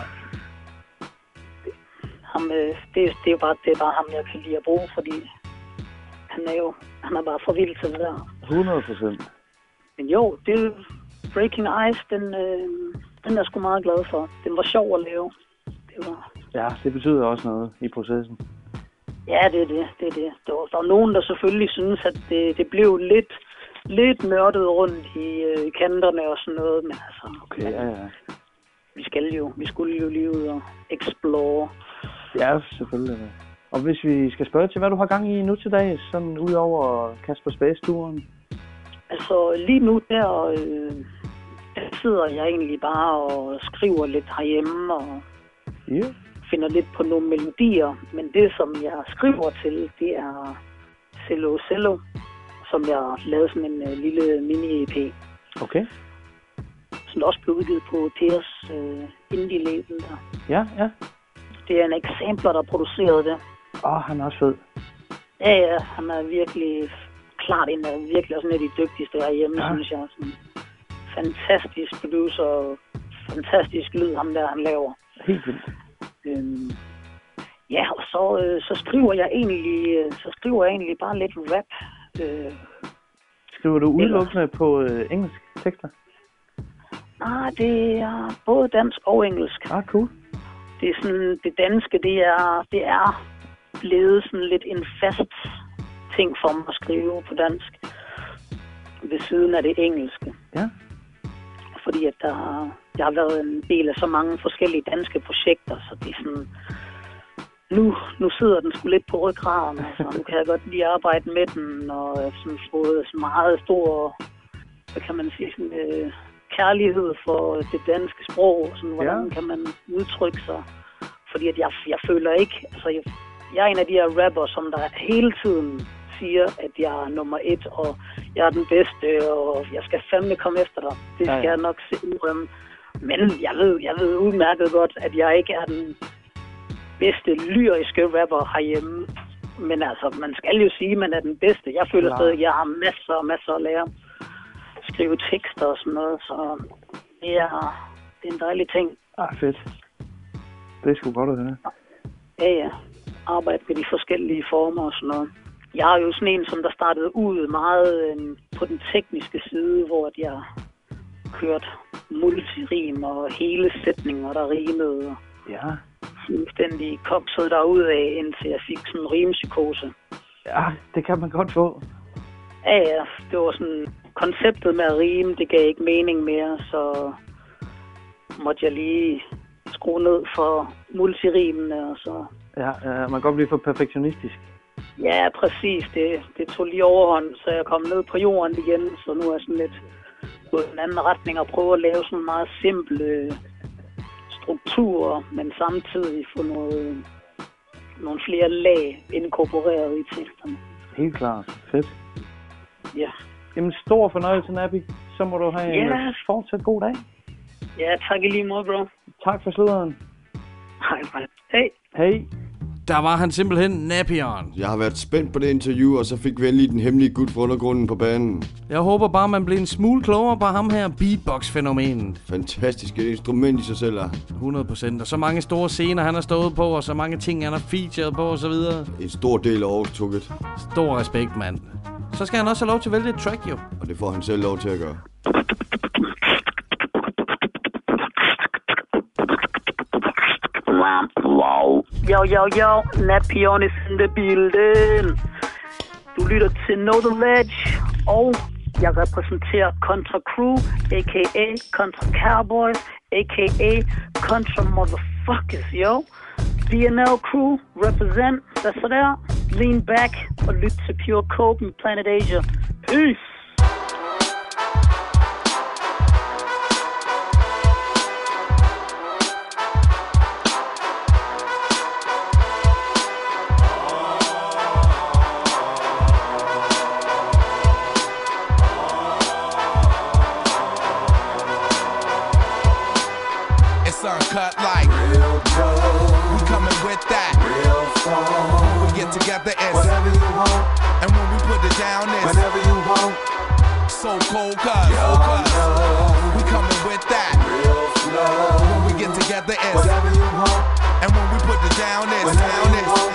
det er bare ham, jeg kan lide at bruge, fordi han er bare for vild til det der. 100%. Men jo, det Breaking Ice, den er jeg sgu meget glad for. Den var sjov at lave. Ja, det betyder også noget i processen. Ja, det er det. Der var nogen, der selvfølgelig synes, at det blev lidt nørdet rundt i kanterne og sådan noget, men altså... Okay, ja. Vi skulle jo lige ud og explore. Ja, selvfølgelig. Og hvis vi skal spørge til, hvad du har gang i nu til dag, sådan ud over Kasper Space-turen? Altså, lige nu der sidder jeg egentlig bare og skriver lidt herhjemme og finder lidt på nogle melodier. Men det, som jeg skriver til, det er Cello, som jeg lavede sådan en lille mini-EP. Okay. Som også blev udgivet på Pers indie-label der. Ja. Det er en Exemplar, der producerede det. Han er også fed. Ja, han er virkelig klart en af virkelig også en af de dygtigste herhjemme, synes jeg. Sådan fantastisk producer og fantastisk lyd, ham der, han laver. Helt vildt. Ja, og så skriver jeg egentlig bare lidt rap. Skriver du udelukkende på engelsk tekster? Nej, det er både dansk og engelsk. Cool. Det er sådan, det danske, det er blevet sådan lidt en fast ting for mig at skrive på dansk. Ved siden af det engelske. Ja. Fordi at jeg har været en del af så mange forskellige danske projekter, så det er sådan... Nu sidder den sgu lidt på ryggraden, så nu kan jeg godt lige arbejde med den, og sådan fået så meget stor, hvad kan man sige, sådan, kærlighed for det danske sprog, sådan, hvordan kan man udtrykke sig. Fordi at jeg føler ikke, altså jeg er en af de her rapper, som der hele tiden siger, at jeg er nummer 1, og jeg er den bedste, og jeg skal fandme komme efter dig. Det skal jeg nok se udrømme. Men jeg ved udmærket godt, at jeg ikke er den bedste lyriske rapper herhjemme. Men altså, man skal jo sige, at man er den bedste. Jeg føler stadig, at jeg har masser at lære. Skrive tekster og sådan noget, så det er en dejlig ting. Fedt. Det er sgu godt at høre. Ja. Arbejde med de forskellige former og sådan noget. Jeg er jo sådan en, som der startede ud meget på den tekniske side, hvor jeg kørte multirim og hele sætninger, der rimede. Ja. Fuldstændig kokset derudad, indtil jeg fik sådan en rimpsykose. Ja, det kan man godt få. Ja, det var sådan, konceptet med at rime, det gav ikke mening mere, så måtte jeg lige skrue ned for multirimene, og så... Ja, man kan godt blive for perfektionistisk. Ja, præcis. Det tog lige overhånd, så jeg kom ned på jorden igen, så nu er jeg sådan lidt gået i en anden retning og prøve at lave sådan meget simple strukturer, men samtidig få nogle flere lag inkorporeret i teksterne. Helt klart. Fedt. Ja. Jamen, stor fornøjelse, Nappy. Så må du have en fortsat god dag. Ja, tak i lige måde, bro. Tak for sluderen. Hej. Hej. Der var han simpelthen Napion. Jeg har været spændt på det interview, og så fik vi endelig den hemmelige gut fra undergrunden på banen. Jeg håber bare, man bliver en smule klogere på ham her beatbox-fænomenet. Fantastisk instrument i sig selv. 100%. Og så mange store scener, han har stået på, og så mange ting, han har featured på, og så videre. En stor del af overtukket. Stor respekt, mand. Så skal han også have lov til at vælge et track, jo. Og det får han selv lov til at gøre. Wow. Yo, Napion is in the building. Du lytter til Know The Ledge, og jeg repræsenterer Contra Crew, a.k.a. Contra Cowboys, a.k.a. Contra Motherfuckers, yo. DNL Crew, represent, hvad så der? Lean back og lyt til Pure Coke med Planet Asia. Peace! Uncut like real dope. We coming with that real fun. When we get together, it's whatever you want. And when we put it down, it's whenever you want. So cold, cuz we coming with that real flow. When we get together, it's whatever you want. And when we put it down, it's whenever you want.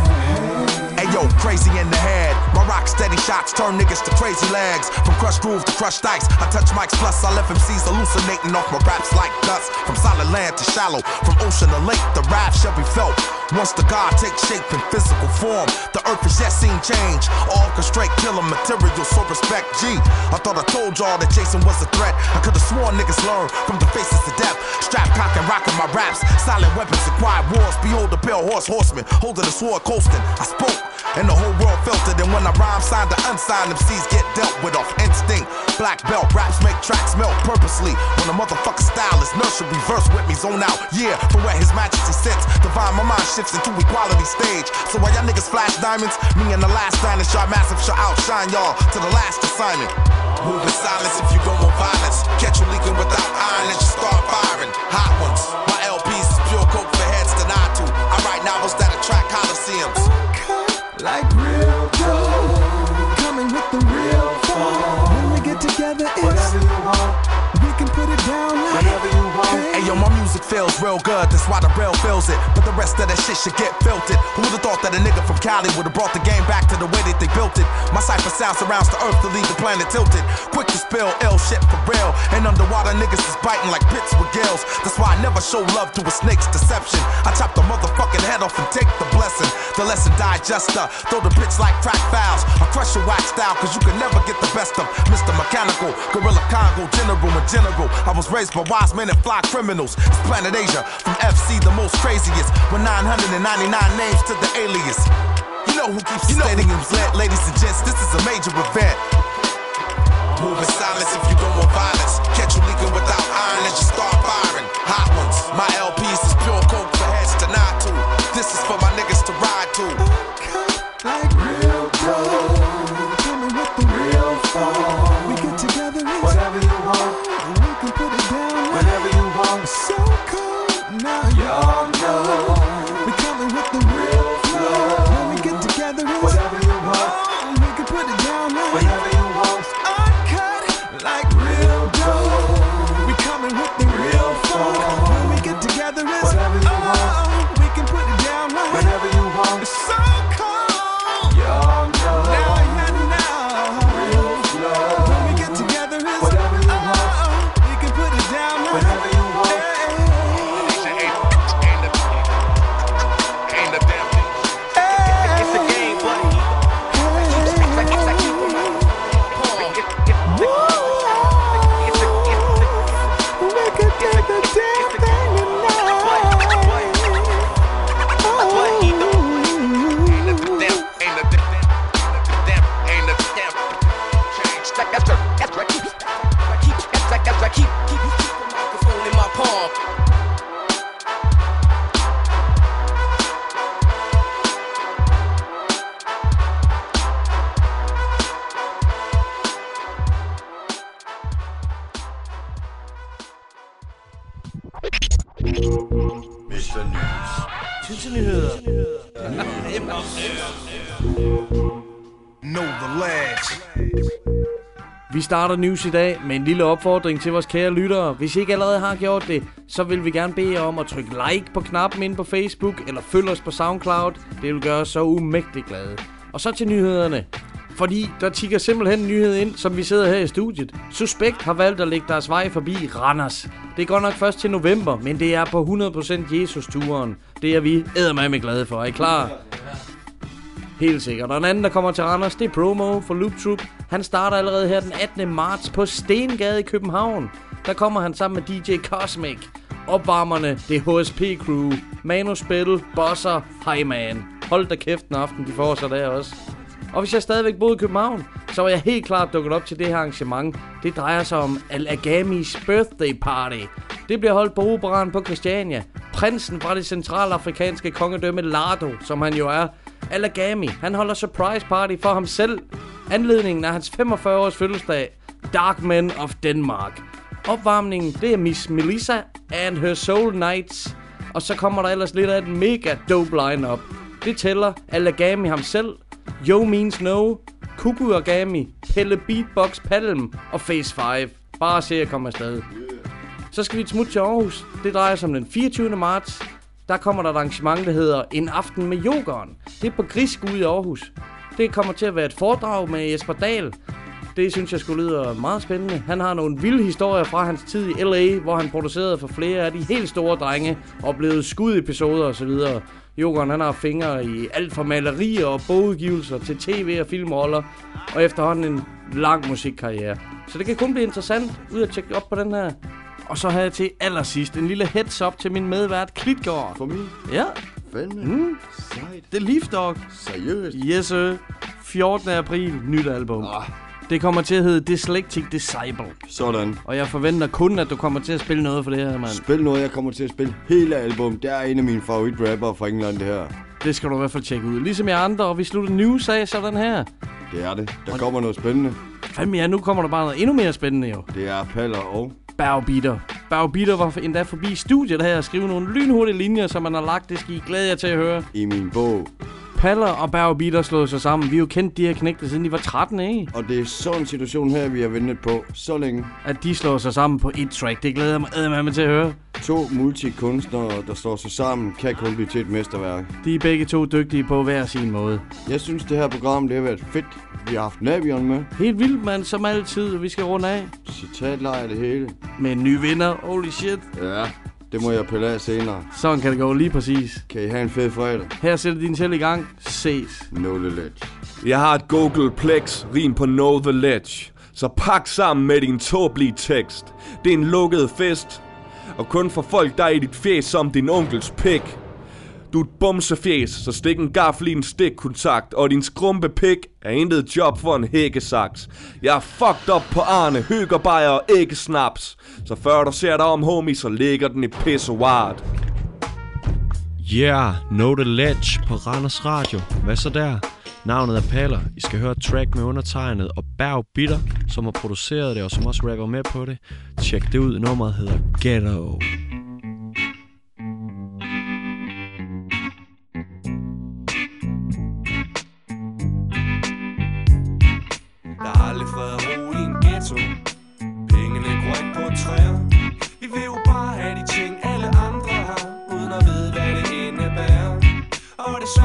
Hey yo, crazy in the head. My rock steady shots turn niggas to crazy legs. From crushed groove to crushed dice, I touch mics plus I left MCs hallucinating off my raps like dust. From solid land to shallow, from ocean to lake, the rap shall be felt. Once the God takes shape in physical form, the earth is yet seen change. Orchestrate killer material, so respect G. I thought I told y'all that Jason was a threat. I could've sworn niggas learn from the faces of death. Strap cock and rockin' my raps, silent weapons and quiet wars. Behold the pale horseman, holding a sword coasting. I spoke, and the whole world felt it. And when I rhyme, signed to unsigned, MCs get dealt with off instinct. Black belt, raps make tracks melt purposely. When a motherfucker style is nurtured, reverse with me, zone out. Yeah, from where his majesty sits, divine my mind shifts into equality stage. So while y'all niggas flash diamonds, me and the last dinosaur massive shall outshine y'all to the last assignment. Move in silence if you go with violence. Catch you leaking without iron and you start firing. Hot ones. My LPs is pure coke for heads to nod to. I write novels that attract coliseums. Like real dope, coming with the real fun. When we get together, it's whatever you want. We can put it down like whatever you want. Hey yo, my music feels real good, that's why the rail feels it. But the rest of that shit should get filtered. Who would've thought that a nigga from Cali would've brought the game back to the way that they built it? My cipher sound surrounds the earth to leave the planet tilted. Quick to spill ill shit for real. And underwater niggas is biting like pits with gills. That's why I never show love to a snake's deception. I chop the motherfucking head off and take the blessing. The lesson digester, throw the bitch like crack fouls. I crush your wax style, cause you can never get the best of Mr. Mechanical, Gorilla Congo, General and General. I was raised by wise men and fly criminals. It's Planet Asia, from FC the most craziest. With 999 names to the alias. You know who keeps the stadiums lit, ladies and gents, this is a major event. Move in silence if you don't want violence. Catch you leaking without iron and you start firing. Hot ones, my LPs is pure coke for heads to nod to. This is for my niggas to ride to. Like real dope. It's so cold. Y'all know. Now, real flow. When we get together, it's whatever you want. We can put it down. Whatever you want. It's a game, buddy. Vi starter news i dag med en lille opfordring til vores kære lyttere. Hvis I ikke allerede har gjort det, så vil vi gerne bede jer om at trykke like på knappen inde på Facebook, eller følg os på SoundCloud. Det vil gøre os så umægtigt glade. Og så til nyhederne. Fordi der tikker simpelthen en nyhed ind, som vi sidder her i studiet. Suspekt har valgt at lægge deres vej forbi Randers. Det er godt nok først til november, men det er på 100% Jesus-turen. Det er vi eddermame glade for. Er I klar? Helt sikkert. Og den anden, der kommer til Randers, det er Promo for Loop Troop. Han starter allerede her den 18. marts på Stengade i København. Der kommer han sammen med DJ Cosmic. Opvarmerne, det er HSP Crew. Manuspil, Bosser, Highman. Hold da kæft en aften, de får sig der også. Og hvis jeg stadigvæk boede i København, så var jeg helt klart dukket op til det her arrangement. Det drejer sig om Al-Agamis birthday party. Det bliver holdt på Operan på Christiania. Prinsen fra det centralafrikanske kongedømme Lardo, som han jo er. Al-Agami, han holder surprise party for ham selv. Anledningen er hans 45 års fødselsdag. Dark Men of Denmark. Opvarmningen, det er Miss Melissa and her Soul Knights. Og så kommer der ellers lidt af et mega dope line-up. Det tæller Al-Agami ham selv, Yo Means No, Kuku Agami, Pelle Beatbox Palm og Phase 5. Bare se at komme afsted. Så skal vi et smut til Aarhus. Det drejer sig om den 24. marts. Der kommer der et arrangement, der hedder En Aften med Yoghurt. Det er på Grisk ude i Aarhus. Det kommer til at være et foredrag med Jesper Dahl. Det synes jeg skulle lyde meget spændende. Han har nogle vilde historier fra hans tid i LA, hvor han producerede for flere af de helt store drenge og blevet skudepisoder osv. Yoghurt, han har fingre i alt fra malerier og bogudgivelser til tv- og filmroller, og efterhånden en lang musikkarriere. Så det kan kun blive interessant ud at tjekke op på den her. Og så har jeg til allersidst en lille heads up til min medvært Klitgaard. For mig? Ja. Fandme. Sejt. Det er Leaf Dog. Seriøst? Yes, sir. 14. april, nyt album. Det kommer til at hedde Dyslectic Disciple. Sådan. Og jeg forventer kun, at du kommer til at spille noget for det her, mand. Spil noget, jeg kommer til at spille hele album. Det er en af mine favoritrapper fra England, det her. Det skal du i hvert fald tjekke ud. Ligesom jeg andre, og vi slutter news af sådan her. Det er det. Der kommer noget spændende. Fandme ja, nu kommer der bare noget endnu mere spændende jo. Det er Paller og Baubeater. Baubeater var endda forbi studiet her og skrive nogle lynhurtige linjer, som man har lagt. Det skal I glæde jer til at høre. I min bog. Paller og Baubeater slået sig sammen. Vi har jo kendt de her knægte, siden de var 13, ikke? Og det er sådan en situation her, vi har ventet på så længe. At de slår sig sammen på et track, det glæder jeg mig til at høre. 2 multikunstnere, der står sig sammen, kan kun blive til et mesterværk. De er begge to dygtige på hver sin måde. Jeg synes, det her program, det har været fedt. Vi har haft Navion med. Helt vildt, mand, som altid. Vi skal runde af. Citatlejr det hele. Med en ny vinder. Holy shit. Ja, det må jeg pille af senere. Sådan kan det gå lige præcis. Kan I have en fed fredag. Her sætter din selv i gang. Ses. Know the ledge. Jeg har et Googleplex, rim på Know the ledge. Så pak sammen med din tåbelige tekst. Det er en lukket fest. Og kun for folk, der er i dit fjes som din onkels pik. Du er et bumsefjes, så stik en gaffel i en stikkontakt. Og din skrumpe pik er intet job for en hækkesaks. Jeg er fucked up på Arne, høgerbejer og æggesnaps. Så før du ser dig om, homie, så ligger den i pissoiret. Yeah, Know the ledge på Randers Radio. Hvad så der? Navnet er Paller. I skal høre et track med undertegnet og Baubeater, som har produceret det og som også rapper med på det. Tjek det ud. Nummeret hedder Ghetto. Der er aldrig fred og ro i en ghetto. Pengene går ikke på træer. Vi vil jo bare have de ting alle andre har, uden at vide hvad det indebærer. Og det er svært at sige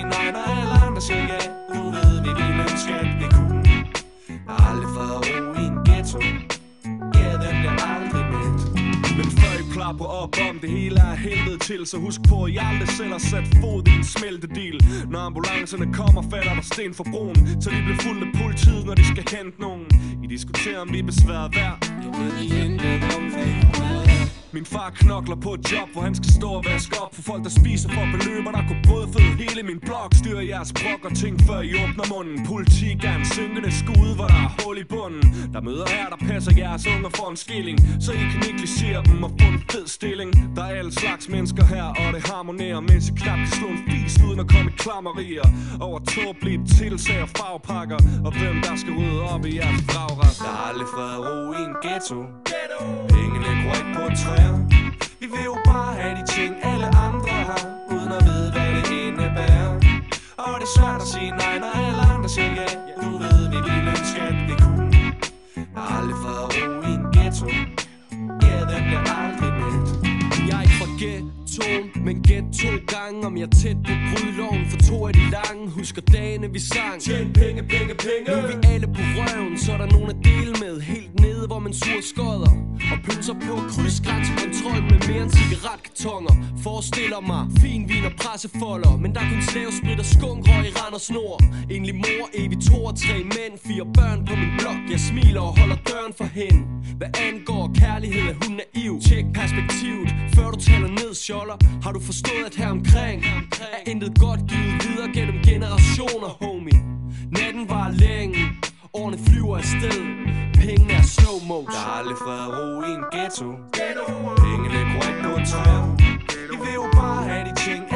nej, når alle andre siger ja. Du ved, vi ville ønske, at vi kunne. Der har aldrig været ro i en ghetto. Ja, den bliver aldrig mæt. Men før I klapper op om det hele er helvede til, så husk på, at I aldrig selv har sat fod i en smeltedil. Når ambulancerne kommer, falder der sten for broen, så de bliver fuldt af politiet, når de skal hente nogen. I diskuterer, om vi er besværet værd. Jeg ved I intet om min far knokler på et job, hvor han skal stå og vaske op for folk, der spiser for beløber, der kunne brødføde hele min blok. Styrer jeres brok og ting, før I åbner munden. Politik er en synkende skude, hvor der er hul i bunden. Der møder her, der passer jeres unger for en skilling, så I kan negligere dem og få en fed stilling. Der er alle slags mennesker her, og det harmonerer, mens I knap kan slå en fis uden at komme i klammerier over tåbelige tilsag og farvepakker, og hvem der skal rydde op i jeres vragret. Der har aldrig været ro i en ghetto. Pengene går ikke på træer. Vi vil jo bare have de ting, alle andre har, uden at vide, hvad det indebærer. Og det er svært at sige nej, når alle andre siger ja. Du ved, vi ville ønske, at vi kunne. Der har aldrig været ro i en ghetto. Ja, den bliver aldrig mæt. Jeg er ikke fra ghettoen, men gæt 2 gange. Om jeg er tæt på brydeloven, for 2 af de lange. Husker dagene vi sang. Tjen penge, penge, penge. Nu er vi alle på røven, så er der nogen at dele med. Helt nede, hvor man suger skodder og pølser på krydsgrænsekontrol med mere end cigaretkartoner. Forestiller mig fin vin og pressefolder, men der er kun slavesprit og skunkrøg i rand og snor. Egentlig mor, evig 2 og 3 mænd, 4 børn på min blok. Jeg smiler og holder døren for hende. Hvad angår kærlighed er hun naiv. Tjek perspektivet, før du taler ned, sjoller. Har du forstået, at her omkring er intet godt givet videre gennem generationer, homie. Natten var længe, årene flyver afsted. Pengene er slow motion. Der har aldrig været ro i en ghetto. Pengene går ikke på træer. Vi vil jo bare have de ting,